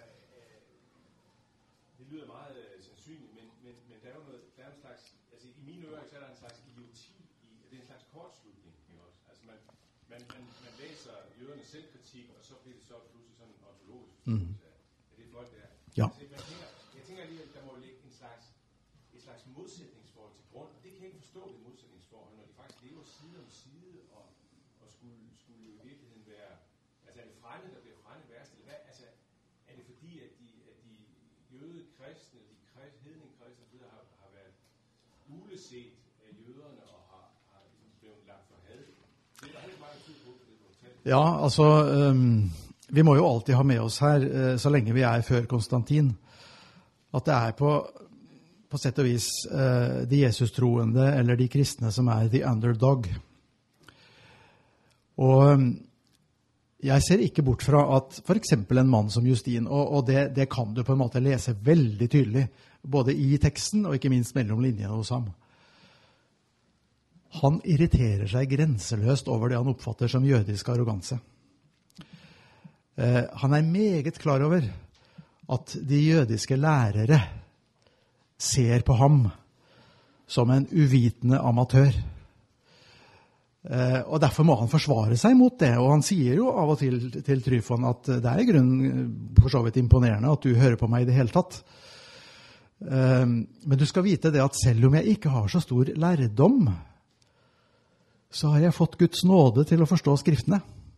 det lyder meget sandsynligt, men, men, men der er jo noget, der er en slags, altså i mine ører så er der en slags idioti i, det er en slags kortslutning, ikke også? Altså man, man, man, man læser jødernes selvkritik, og så bliver det så pludselig sådan en ontologisk Mm. Ja. Altså, jeg, tænker, jeg tænker alligevel, der må ligge en slags, et slags modsætningsforhold til grund. Det kan jeg ikke forstå, det modsætningsforhold, når de faktisk lever side om side, og, og skulle, skulle jo i virkeligheden være, altså er det frænde, der bliver frænde værst, eller hvad? Altså, er det fordi, at de, at de jødekristne, de krist, hedningekristne, har, har været uleset af jøderne, og har, har ligesom blevet lagt for had? Det er der helt meget tid på, for det du fortæller. Ja, altså... Um Vi må jo alltid ha med oss her, så lenge vi er før Konstantin, at det er på, på sett og vis de Jesus-troende eller de kristne som er the underdog. Og jeg ser ikke bort fra at for eksempel en mann som Justin, og, og det, det kan du på en måte lese veldig tydelig, både i teksten og ikke minst mellom linjene hos ham. Han irriterer seg grenseløst over det han oppfatter som jødisk arroganse. Uh, han er meget klar over at de jødiske lærere ser på ham som en uvitende amatør. Uh, og derfor må han forsvare seg mot det, og han sier jo av og til til Tryfon at det er i grunnen for så vidt imponerende at du hører på meg i det hele tatt. Uh, men du skal vite det at selv om jeg ikke har så stor lærdom, så har jeg fått Guds nåde til å forstå skriftene.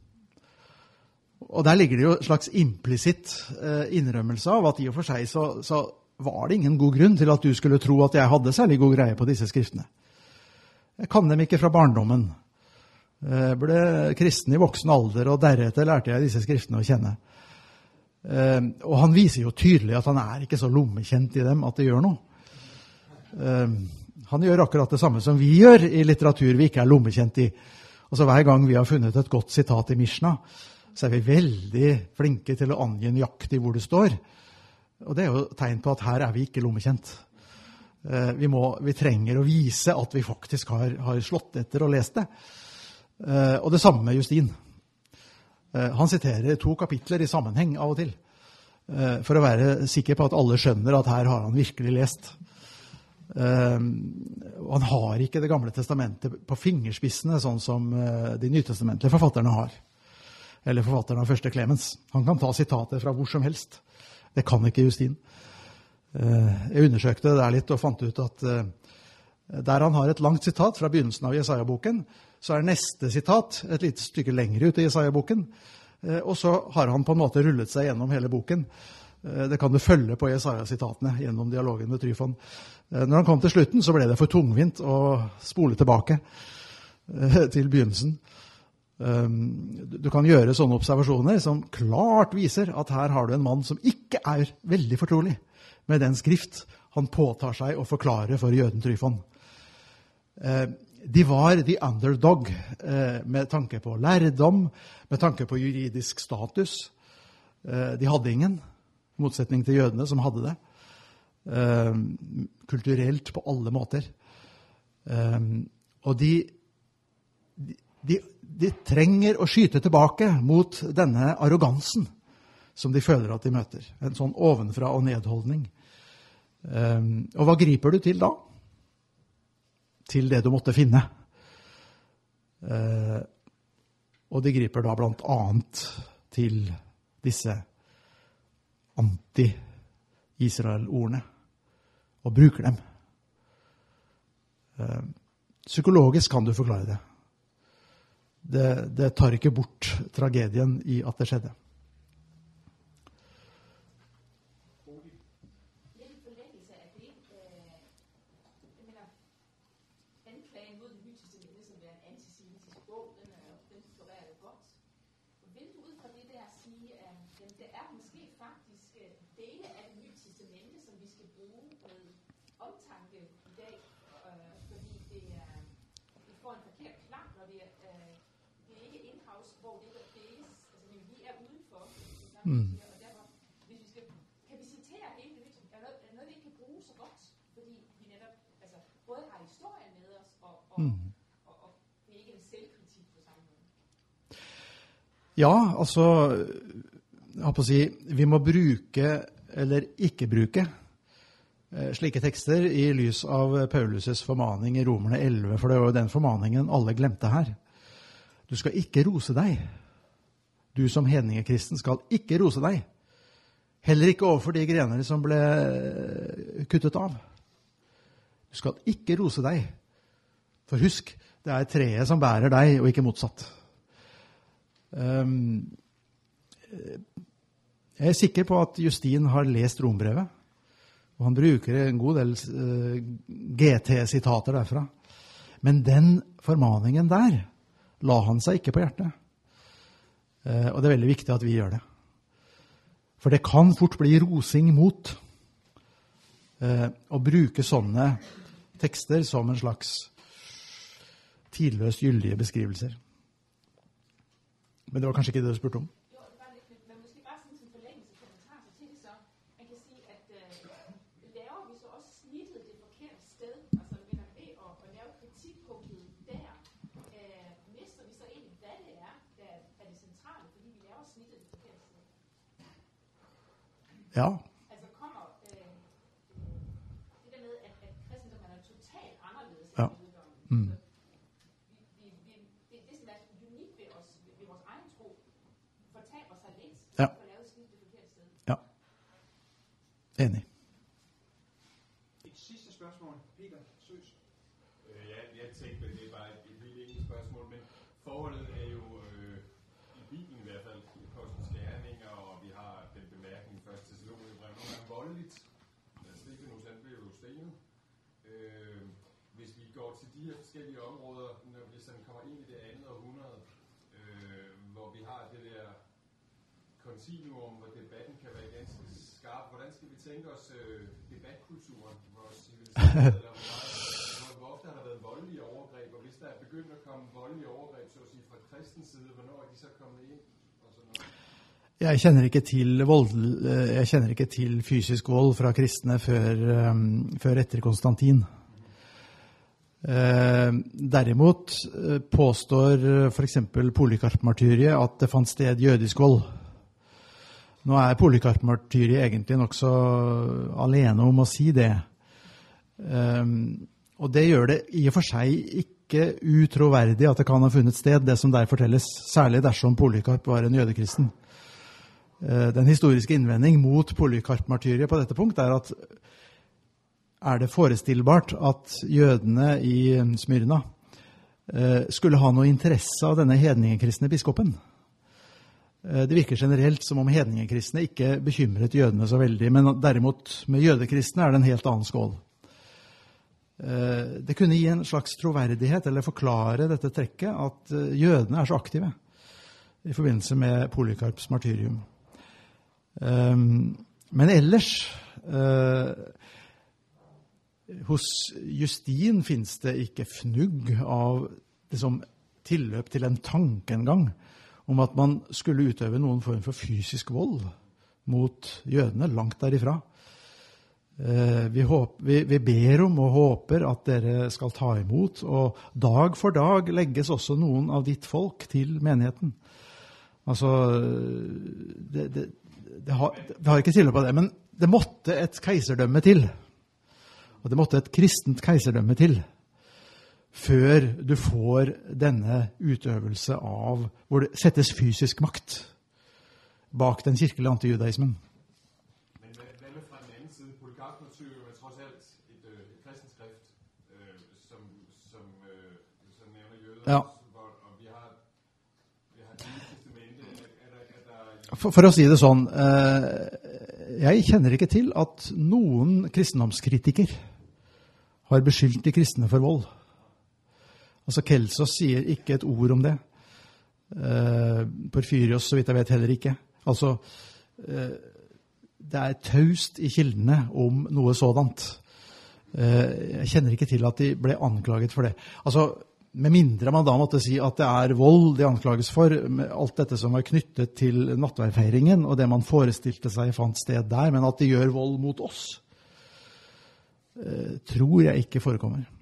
Og der ligger det jo en slags implisitt eh, innrømmelse av at i og for seg så, så var det ingen god grunn til at du skulle tro at jeg hadde særlig god greie på disse skriftene. Jeg kan dem ikke fra barndommen. Jeg ble kristen i voksen alder, og deretter lærte jeg disse skriftene å kjenne. Eh, og han viser jo tydelig at han er ikke så lommekjent i dem at det gjør noe. Eh, han gjør akkurat det samme som vi gjør i litteratur vi ikke er lommekjent i. Altså hver gang vi har funnet et godt sitat i Mishna, så er vi veldig flinke til å angi nøyaktig hvor det står. Og det er jo tegn på at her er vi ikke lommekjent. Eh, vi, må, vi trenger å vise at vi faktisk har, har slått etter og lest det. Eh, og det samme med Justin. Eh, han siterer to kapitler i sammenheng av og til, eh, for å være sikker på at alle skjønner at her har han virkelig lest. Eh, og han har ikke det gamle testamentet på fingerspissene, sånn som eh, de nytestamentlige forfatterne har. Eller forfatteren av første Clemens. Han kan ta sitater fra hvor som helst. Det kan ikke Justin. Jeg undersøkte det der litt og fant ut at der han har et langt sitat fra begynnelsen av Jesaja-boken, så er neste sitat et lite stykke lengre ut i Jesaja-boken, og så har han på en måte rullet seg gjennom hele boken. Det kan du følge på Jesaja-sitatene gjennom dialogen med Tryfon. Når han kom til slutten, så ble det for tungvint å spole tilbake til begynnelsen. Du kan gjøre sånne observasjoner som klart viser at her har du en mann som ikke er veldig fortrolig med den skrift han påtar seg å forklare for jøden Tryfon. De var the underdog med tanke på lærdom, med tanke på juridisk status. De hadde ingen, i motsetning til jødene som hadde det. Kulturelt på alle måter. Og de, de, de trenger å skyte tilbake mot denne arrogansen som de føler at de møter. En sånn ovenfra og nedholdning. Og hva griper du til da? Til det du måtte finne. Eh, og de griper da blant annet til disse anti-Israel-ordene og bruker dem. Eh, psykologisk kan du forklare det. det. Det tar ikke bort tragedien i at det skjedde. Mm. Hvis vi skal, kan vi citere hele det, er noget, er noget, vi ikke kan bruge så godt, fordi vi netop altså, både har historien med os, og, og, mm. og, og det er ikke en selvkritik på samme måde. Ja, altså, jeg har på å si, vi må bruke, eller ikke bruke, slike tekster i lys av Paulus' formaning i Romerne elleve, for det var jo den formaningen alle glemte her. Du skal ikke rose deg. Du som hedningekristen skal ikke rose deg. Heller ikke overfor de grener som ble kuttet av. Du skal ikke rose deg. For husk, det er treet som bærer deg, og ikke motsatt. Um, jeg er sikker på at Justin har lest Rombrevet, og han bruker en god del uh, G T-sitater derfra. Men den formaningen der la han seg ikke på hjertet. Uh, og det er veldig viktig at vi gjør det. For det kan fort bli rosing mot uh, å bruke sånne tekster som en slags tidløst gyldige beskrivelser. Men det var kanskje ikke det du spurte om? Jo, det var lidt, men måske bare sådan en forlængelse kommentar så til det så. Man kan sige, at øh, laver vi så også snittet det forkerte sted, altså ved at, at lave kritikpunktet der, øh, mister vi så egentlig, hvad det er, der er det centrale, fordi vi laver snittet det forkerte sted. Ja. Altså kommer øh, det der med, at, at kristendommen er totalt anderledes ja. end jødedommen. Mm. Ja. Ja. Enig. Et sidste spørgsmål. Peter Søs. Øh, ja, jeg tænkte, det er bare et, et lille enkelt spørgsmål, men forholdet er jo øh, i Bibelen i hvert fald, i Apostlenes Gerninger, og vi har den bemærkning først til Thessalonikerbrevet, nogle gange voldeligt. Stefanus, han blev jo stenet. Øh, hvis vi går til de her forskellige områder, når vi sådan kommer ind i det andet århundrede, øh, hvor vi har det der kontinuum, hvor debatten kan være ganske skarp. Hvordan skal vi tænke os øh, debatkulturen, vores civilisation, eller hvor, hvor ofte har der været voldelige overgreb, og hvis der er begyndt at komme voldelige overgreb, så at sige, fra kristens side, hvornår er de så kommet ind? Og sådan noget? Jeg kjenner ikke til vold, jeg kjenner ikke til fysisk vold fra kristne før, um, før etter Konstantin. Uh, derimot uh, påstår uh, for eksempel Polykarp-martyriet at det fant sted jødisk vold. Nå er Polykarp-martyriet egentlig nok så alene om å si det. Um, og det gjør det i og for seg ikke utroverdig at det kan ha funnet sted, det som der fortelles, særlig dersom Polykarp var en jødekristen. Uh, den historiske innvending mot Polykarp-martyriet på dette punkt er at er det forestillbart at jødene i Smyrna skulle ha noe interesse av denne hedningekristne biskopen. Det virker generelt som om hedningekristne ikke bekymret jødene så veldig, men derimot med jødekristne er det en helt annen skål. Det kunne gi en slags troverdighet, eller forklare dette trekket, at jødene er så aktive i forbindelse med Polycarps martyrium. Men ellers, hos Justin finnes det ikke fnugg av liksom, tilløp til en tanke en gang om at man skulle utøve noen form for fysisk vold mot jødene langt derifra. Vi, håper, vi, vi ber om og håper at dere skal ta imot, og dag for dag legges også noen av ditt folk til menigheten. Altså, det, det, det, har, det har ikke tilløp av det, men det måtte et keiserdømme til. Og det måtte et kristent keiserdømme til før du får denne utøvelse av hvor det settes fysisk makt bak den kirkelige antijudaismen. Men hvad med fra den anden side? Polycarp martyrium er trods alt et, øh, et kristent skrift, øh, som, som, øh, som nævner jøder, ja. hvor, og vi har, vi har et testamente. Er, er der, er der... For, for å si det sånn, eh, jeg kjenner ikke til at noen kristendomskritiker har beskyldt de kristne for vold. Altså Kelsos sier ikke et ord om det. Uh, Porfyrios, så vidt jeg vet, heller ikke. Altså, uh, det er taust i kildene om noe sådant. Uh, jeg kjenner ikke til at de ble anklaget for det. Altså, med mindre man da måtte si at det er vold de anklages for, med alt dette som var knyttet til nattverdfeiringen, og det man forestilte seg fant sted der, men at de gjør vold mot oss, uh, tror jeg ikke forekommer.